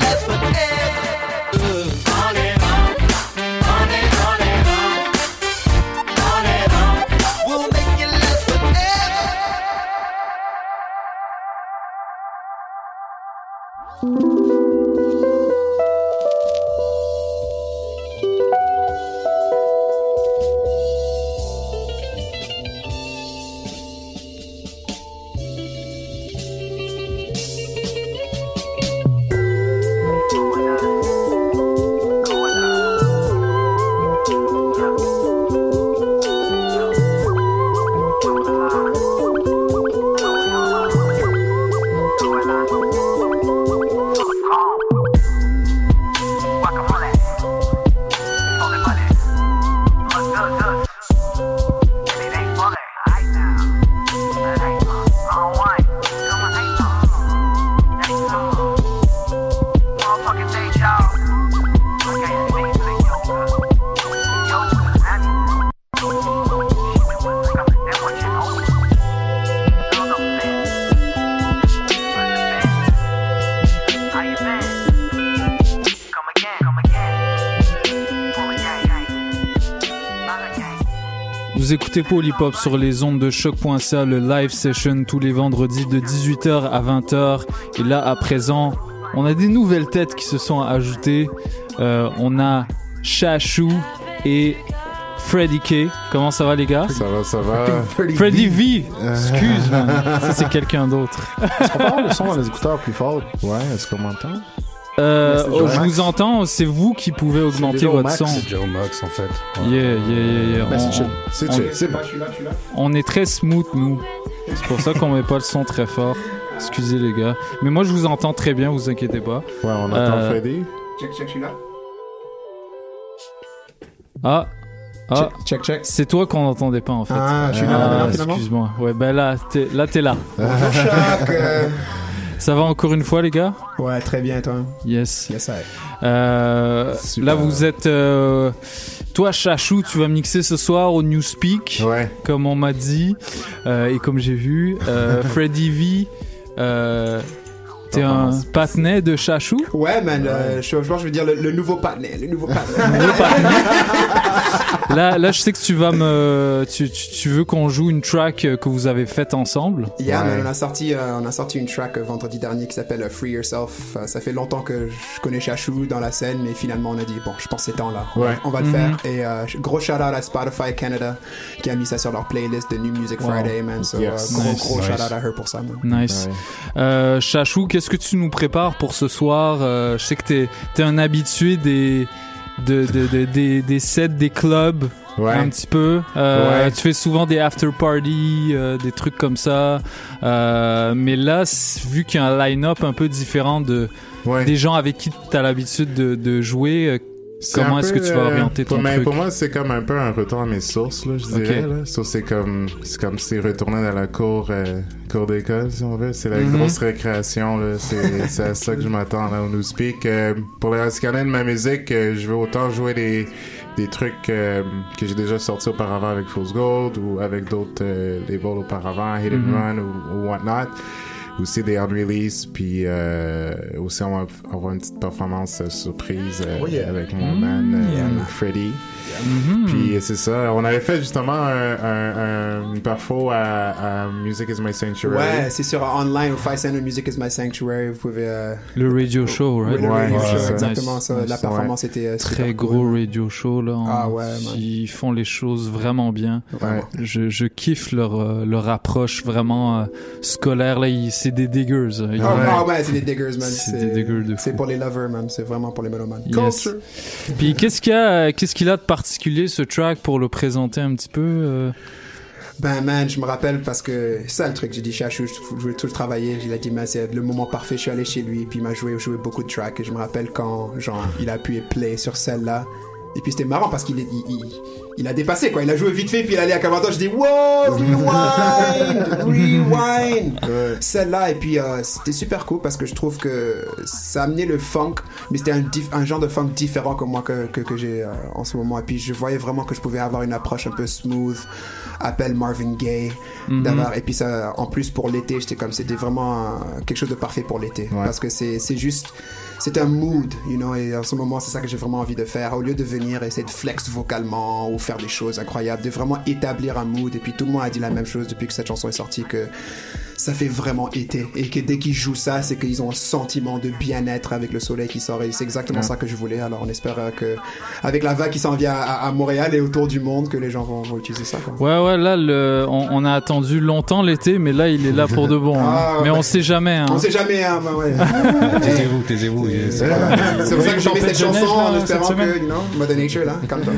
last forever. On and on, on and on and on and on. We'll make it last forever. Vous écoutez Polypop sur les ondes de choc.ca, le live session tous les vendredis de 18h à 20h. Et là, à présent, on a des nouvelles têtes qui se sont ajoutées. On a Chachou et Freddy K. Comment ça va, les gars? Ça va, ça va. Freddy V. Excuse, man. Ça, c'est quelqu'un d'autre. Est-ce qu'on peut avoir le son dans les écouteurs plus fort? Ouais, est-ce qu'on m'entend? Je vous entends, c'est vous qui pouvez augmenter votre son. C'est Joe Max en fait. Yeah. C'est chill. C'est bon. On est très smooth, nous. C'est pour ça qu'on met pas le son très fort. Excusez les gars. Mais moi je vous entends très bien, vous inquiétez pas. Ouais, on entend Freddy. Check, je suis là. Check. C'est toi qu'on n'entendait pas en fait. Je suis là finalement. Excuse-moi. Ouais, ben là, t'es là. Bonjour Choc. Ça va encore une fois, les gars? Ouais, très bien, toi. Yes. Yes, là, vous êtes... toi, Chachou, tu vas mixer ce soir au Newspeak, comme on m'a dit, et comme j'ai vu. Freddy V... T'es un patinet de Chachou? Ouais, man. Je pense que je veux dire le nouveau patinet. Le nouveau patinet. Là, je sais que tu vas tu veux qu'on joue une track que vous avez faite ensemble. Yeah, man, on a sorti une track vendredi dernier qui s'appelle Free Yourself. Ça fait longtemps que je connais Chachou dans la scène, mais finalement on a dit bon, je pense que c'est temps là. On va le faire. Et gros shout out à Spotify Canada qui a mis ça sur leur playlist de New Music Friday, man. So, gros shout out à her pour ça, man. Nice. Chachou, qu'est-ce que tu nous prépares pour ce soir? Je sais que t'es un habitué des sets des clubs, un petit peu. Tu fais souvent des after party, des trucs comme ça. Mais là, vu qu'il y a un line-up un peu différent des gens avec qui t'as l'habitude de jouer, comment est-ce que tu vas orienter ton truc? Pour moi, c'est comme un peu un retour à mes sources, là, je dirais. Là. So, c'est comme si retourner dans la cour d'école, si on veut. C'est la grosse récréation, là. C'est à ça que je m'attends là, au Newspeak. Pour les Radicanais de ma musique, je veux autant jouer des trucs que j'ai déjà sortis auparavant avec Fool's Gold ou avec d'autres labels auparavant, Hit and Run ou whatnot. Aussi des unreleased, puis aussi on va avoir une petite performance surprise avec mon man Freddy. Puis c'est ça, on avait fait justement une perfo à Music is My Sanctuary. Ouais, c'est sur online au Five Center Music is My Sanctuary. Vous pouvez le radio show, right? Le radio show, exactement ça. La performance était très gros radio show là. Ils font les choses vraiment bien. Je kiffe leur approche vraiment scolaire là. C'est des diggers. C'est des diggers, man. C'est des diggers de fou. C'est pour les lovers, man. C'est vraiment pour les mélomanes. Yes. Culture. Puis qu'est-ce qu'il a de particulier ce track pour le présenter un petit peu? Ben man, je me rappelle parce que c'est ça le truc, j'ai dit Chachou, je voulais tout le travailler, il a dit mais c'est le moment parfait, je suis allé chez lui puis il m'a joué beaucoup de tracks et je me rappelle quand genre il a appuyé play sur celle-là Et puis c'était marrant parce il a dépassé, quoi. Il a joué vite fait, puis il allait à 40 ans. Je dis, wow, rewind. Celle-là, et puis c'était super cool parce que je trouve que ça a amené le funk, mais c'était un genre de funk différent que moi que j'ai en ce moment. Et puis je voyais vraiment que je pouvais avoir une approche un peu smooth, appelle Marvin Gaye, et puis ça, en plus pour l'été, c'était vraiment quelque chose de parfait pour l'été, parce que c'est juste, c'est un mood, you know, et en ce moment c'est ça que j'ai vraiment envie de faire, au lieu de venir essayer de flex vocalement ou faire des choses incroyables, de vraiment établir un mood. Et puis tout le monde a dit la même chose depuis que cette chanson est sortie, que ça fait vraiment été, et que dès qu'ils jouent ça, c'est qu'ils ont un sentiment de bien-être avec le soleil qui sort, et c'est exactement ça que je voulais. Alors on espère que avec la vague qui s'en vient à Montréal et autour du monde, que les gens vont utiliser ça, quoi. Ouais, là on a attendu longtemps l'été, mais là il est là pour de bon. Mais on sait jamais. On sait jamais, ouais. Taisez-vous. C'est pour ça que j'ai mis cette chanson en espérant que, Mother Nature, là, calme-toi.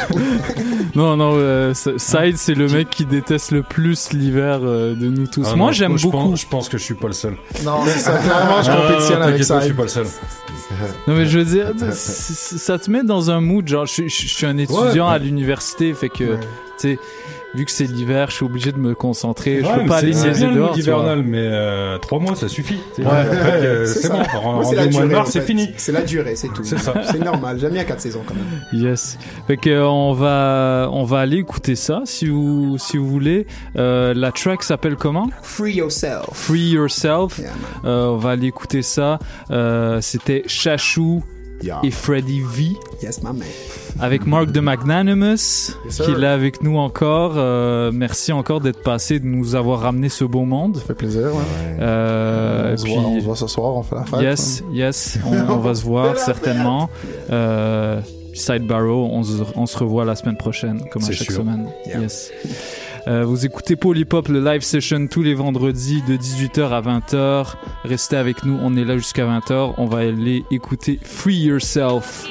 Non, Side, c'est le mec qui déteste le plus l'hiver de nous tous. Moi, j'aime beaucoup. Je pense que je suis pas le seul. Non, c'est ça. Clairement, je compétitionne avec ça. Je suis pas le seul. Non, mais je veux dire, ça te met dans un mood. Genre, je suis un étudiant à l'université, fait que, tu sais, vu que c'est l'hiver, je suis obligé de me concentrer. Je peux pas aller niaiser dehors. C'est hivernal, mais 3 mois, ça suffit. Après, c'est bon. Rendez-moi le mars, c'est fini. C'est la durée, c'est tout. C'est ça. C'est normal. Jamais à 4 saisons, quand même. Yes. Fait que on va aller écouter ça, si vous voulez. La track s'appelle comment? Free Yourself. Free Yourself. Yeah, on va aller écouter ça. C'était Chachou et Freddie V. Yes, my man. Avec Mark the Magnanimous, qui est là avec nous encore. Merci encore d'être passé, de nous avoir ramené ce beau monde. Ça fait plaisir, ouais. On se voit ce soir, on fait la fête. Yes, on va se voir certainement. Side Barrow, on se revoit la semaine prochaine, comme à chaque semaine. Yeah. Yes. Vous écoutez Polypop, le live session tous les vendredis de 18h à 20h. Restez avec nous, on est là jusqu'à 20h. On va aller écouter Free Yourself.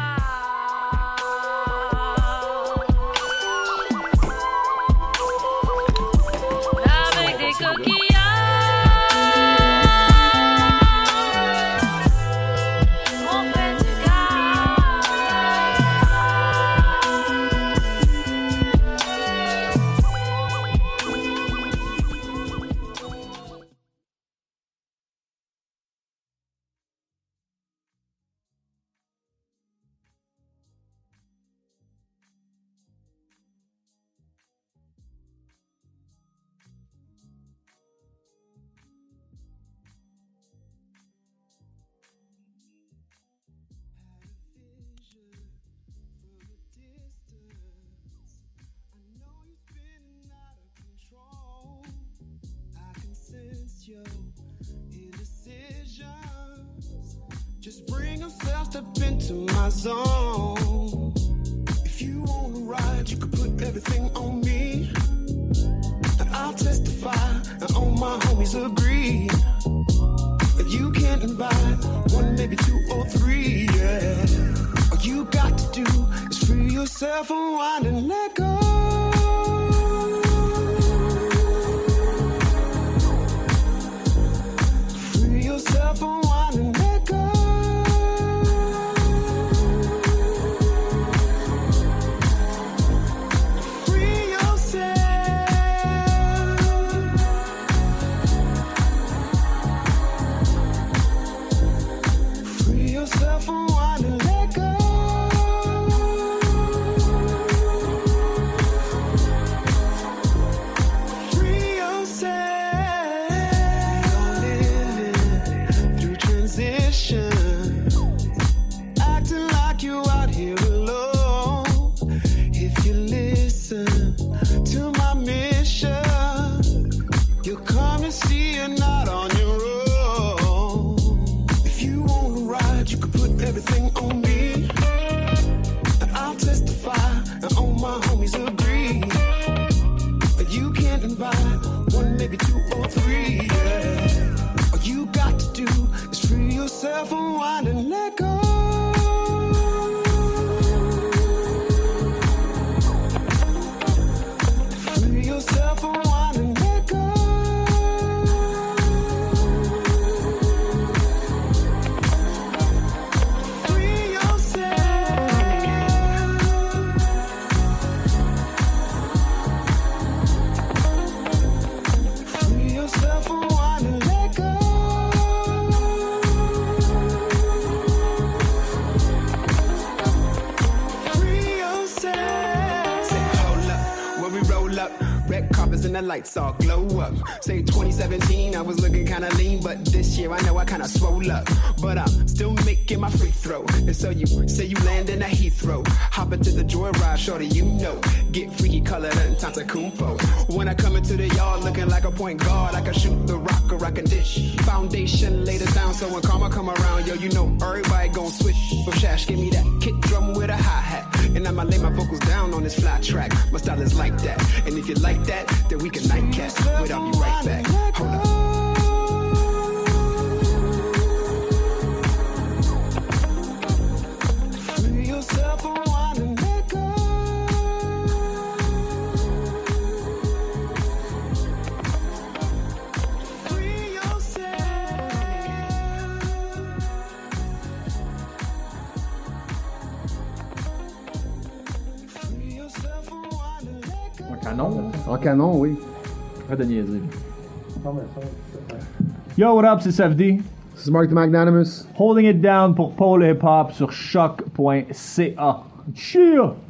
Just bring yourself up into my zone. If you wanna ride, you can put everything on me. And I'll testify, and all my homies agree. That you can't invite 1, maybe 2 or 3, yeah. All you got to do is free yourself, unwind and let go. Free yourself, unwind and let go. lights all glow up. Say 2017, I was looking kinda lean, but this year I know I kinda swole up. But I'm still making my free throw. And so you say you land in a Heathrow. Hop into the joyride, shorty, you know. Get freaky colored and Tantacumpo. When I come into the yard looking like a point guard, I can shoot the rock or I can dish. Foundation laid it down, so when karma come around, yo, you know everybody gon' switch. So Shash, give me that kick drum with a hi-hat. And I'ma lay my vocals down on this fly track. My style is like that. And if you like that, then we can nightcap. Wait, I'll be right back. Hold up. Free yourself from wine and liquor. Free yourself. Free yourself from wine and liquor. En canon. En canon, oui. Arrête de niaiser. Yo, what up, c'est SFD. C'est Mark the Magnanimous. Holding it down pour Pôle Hip Hop sur choc.ca. Cheer!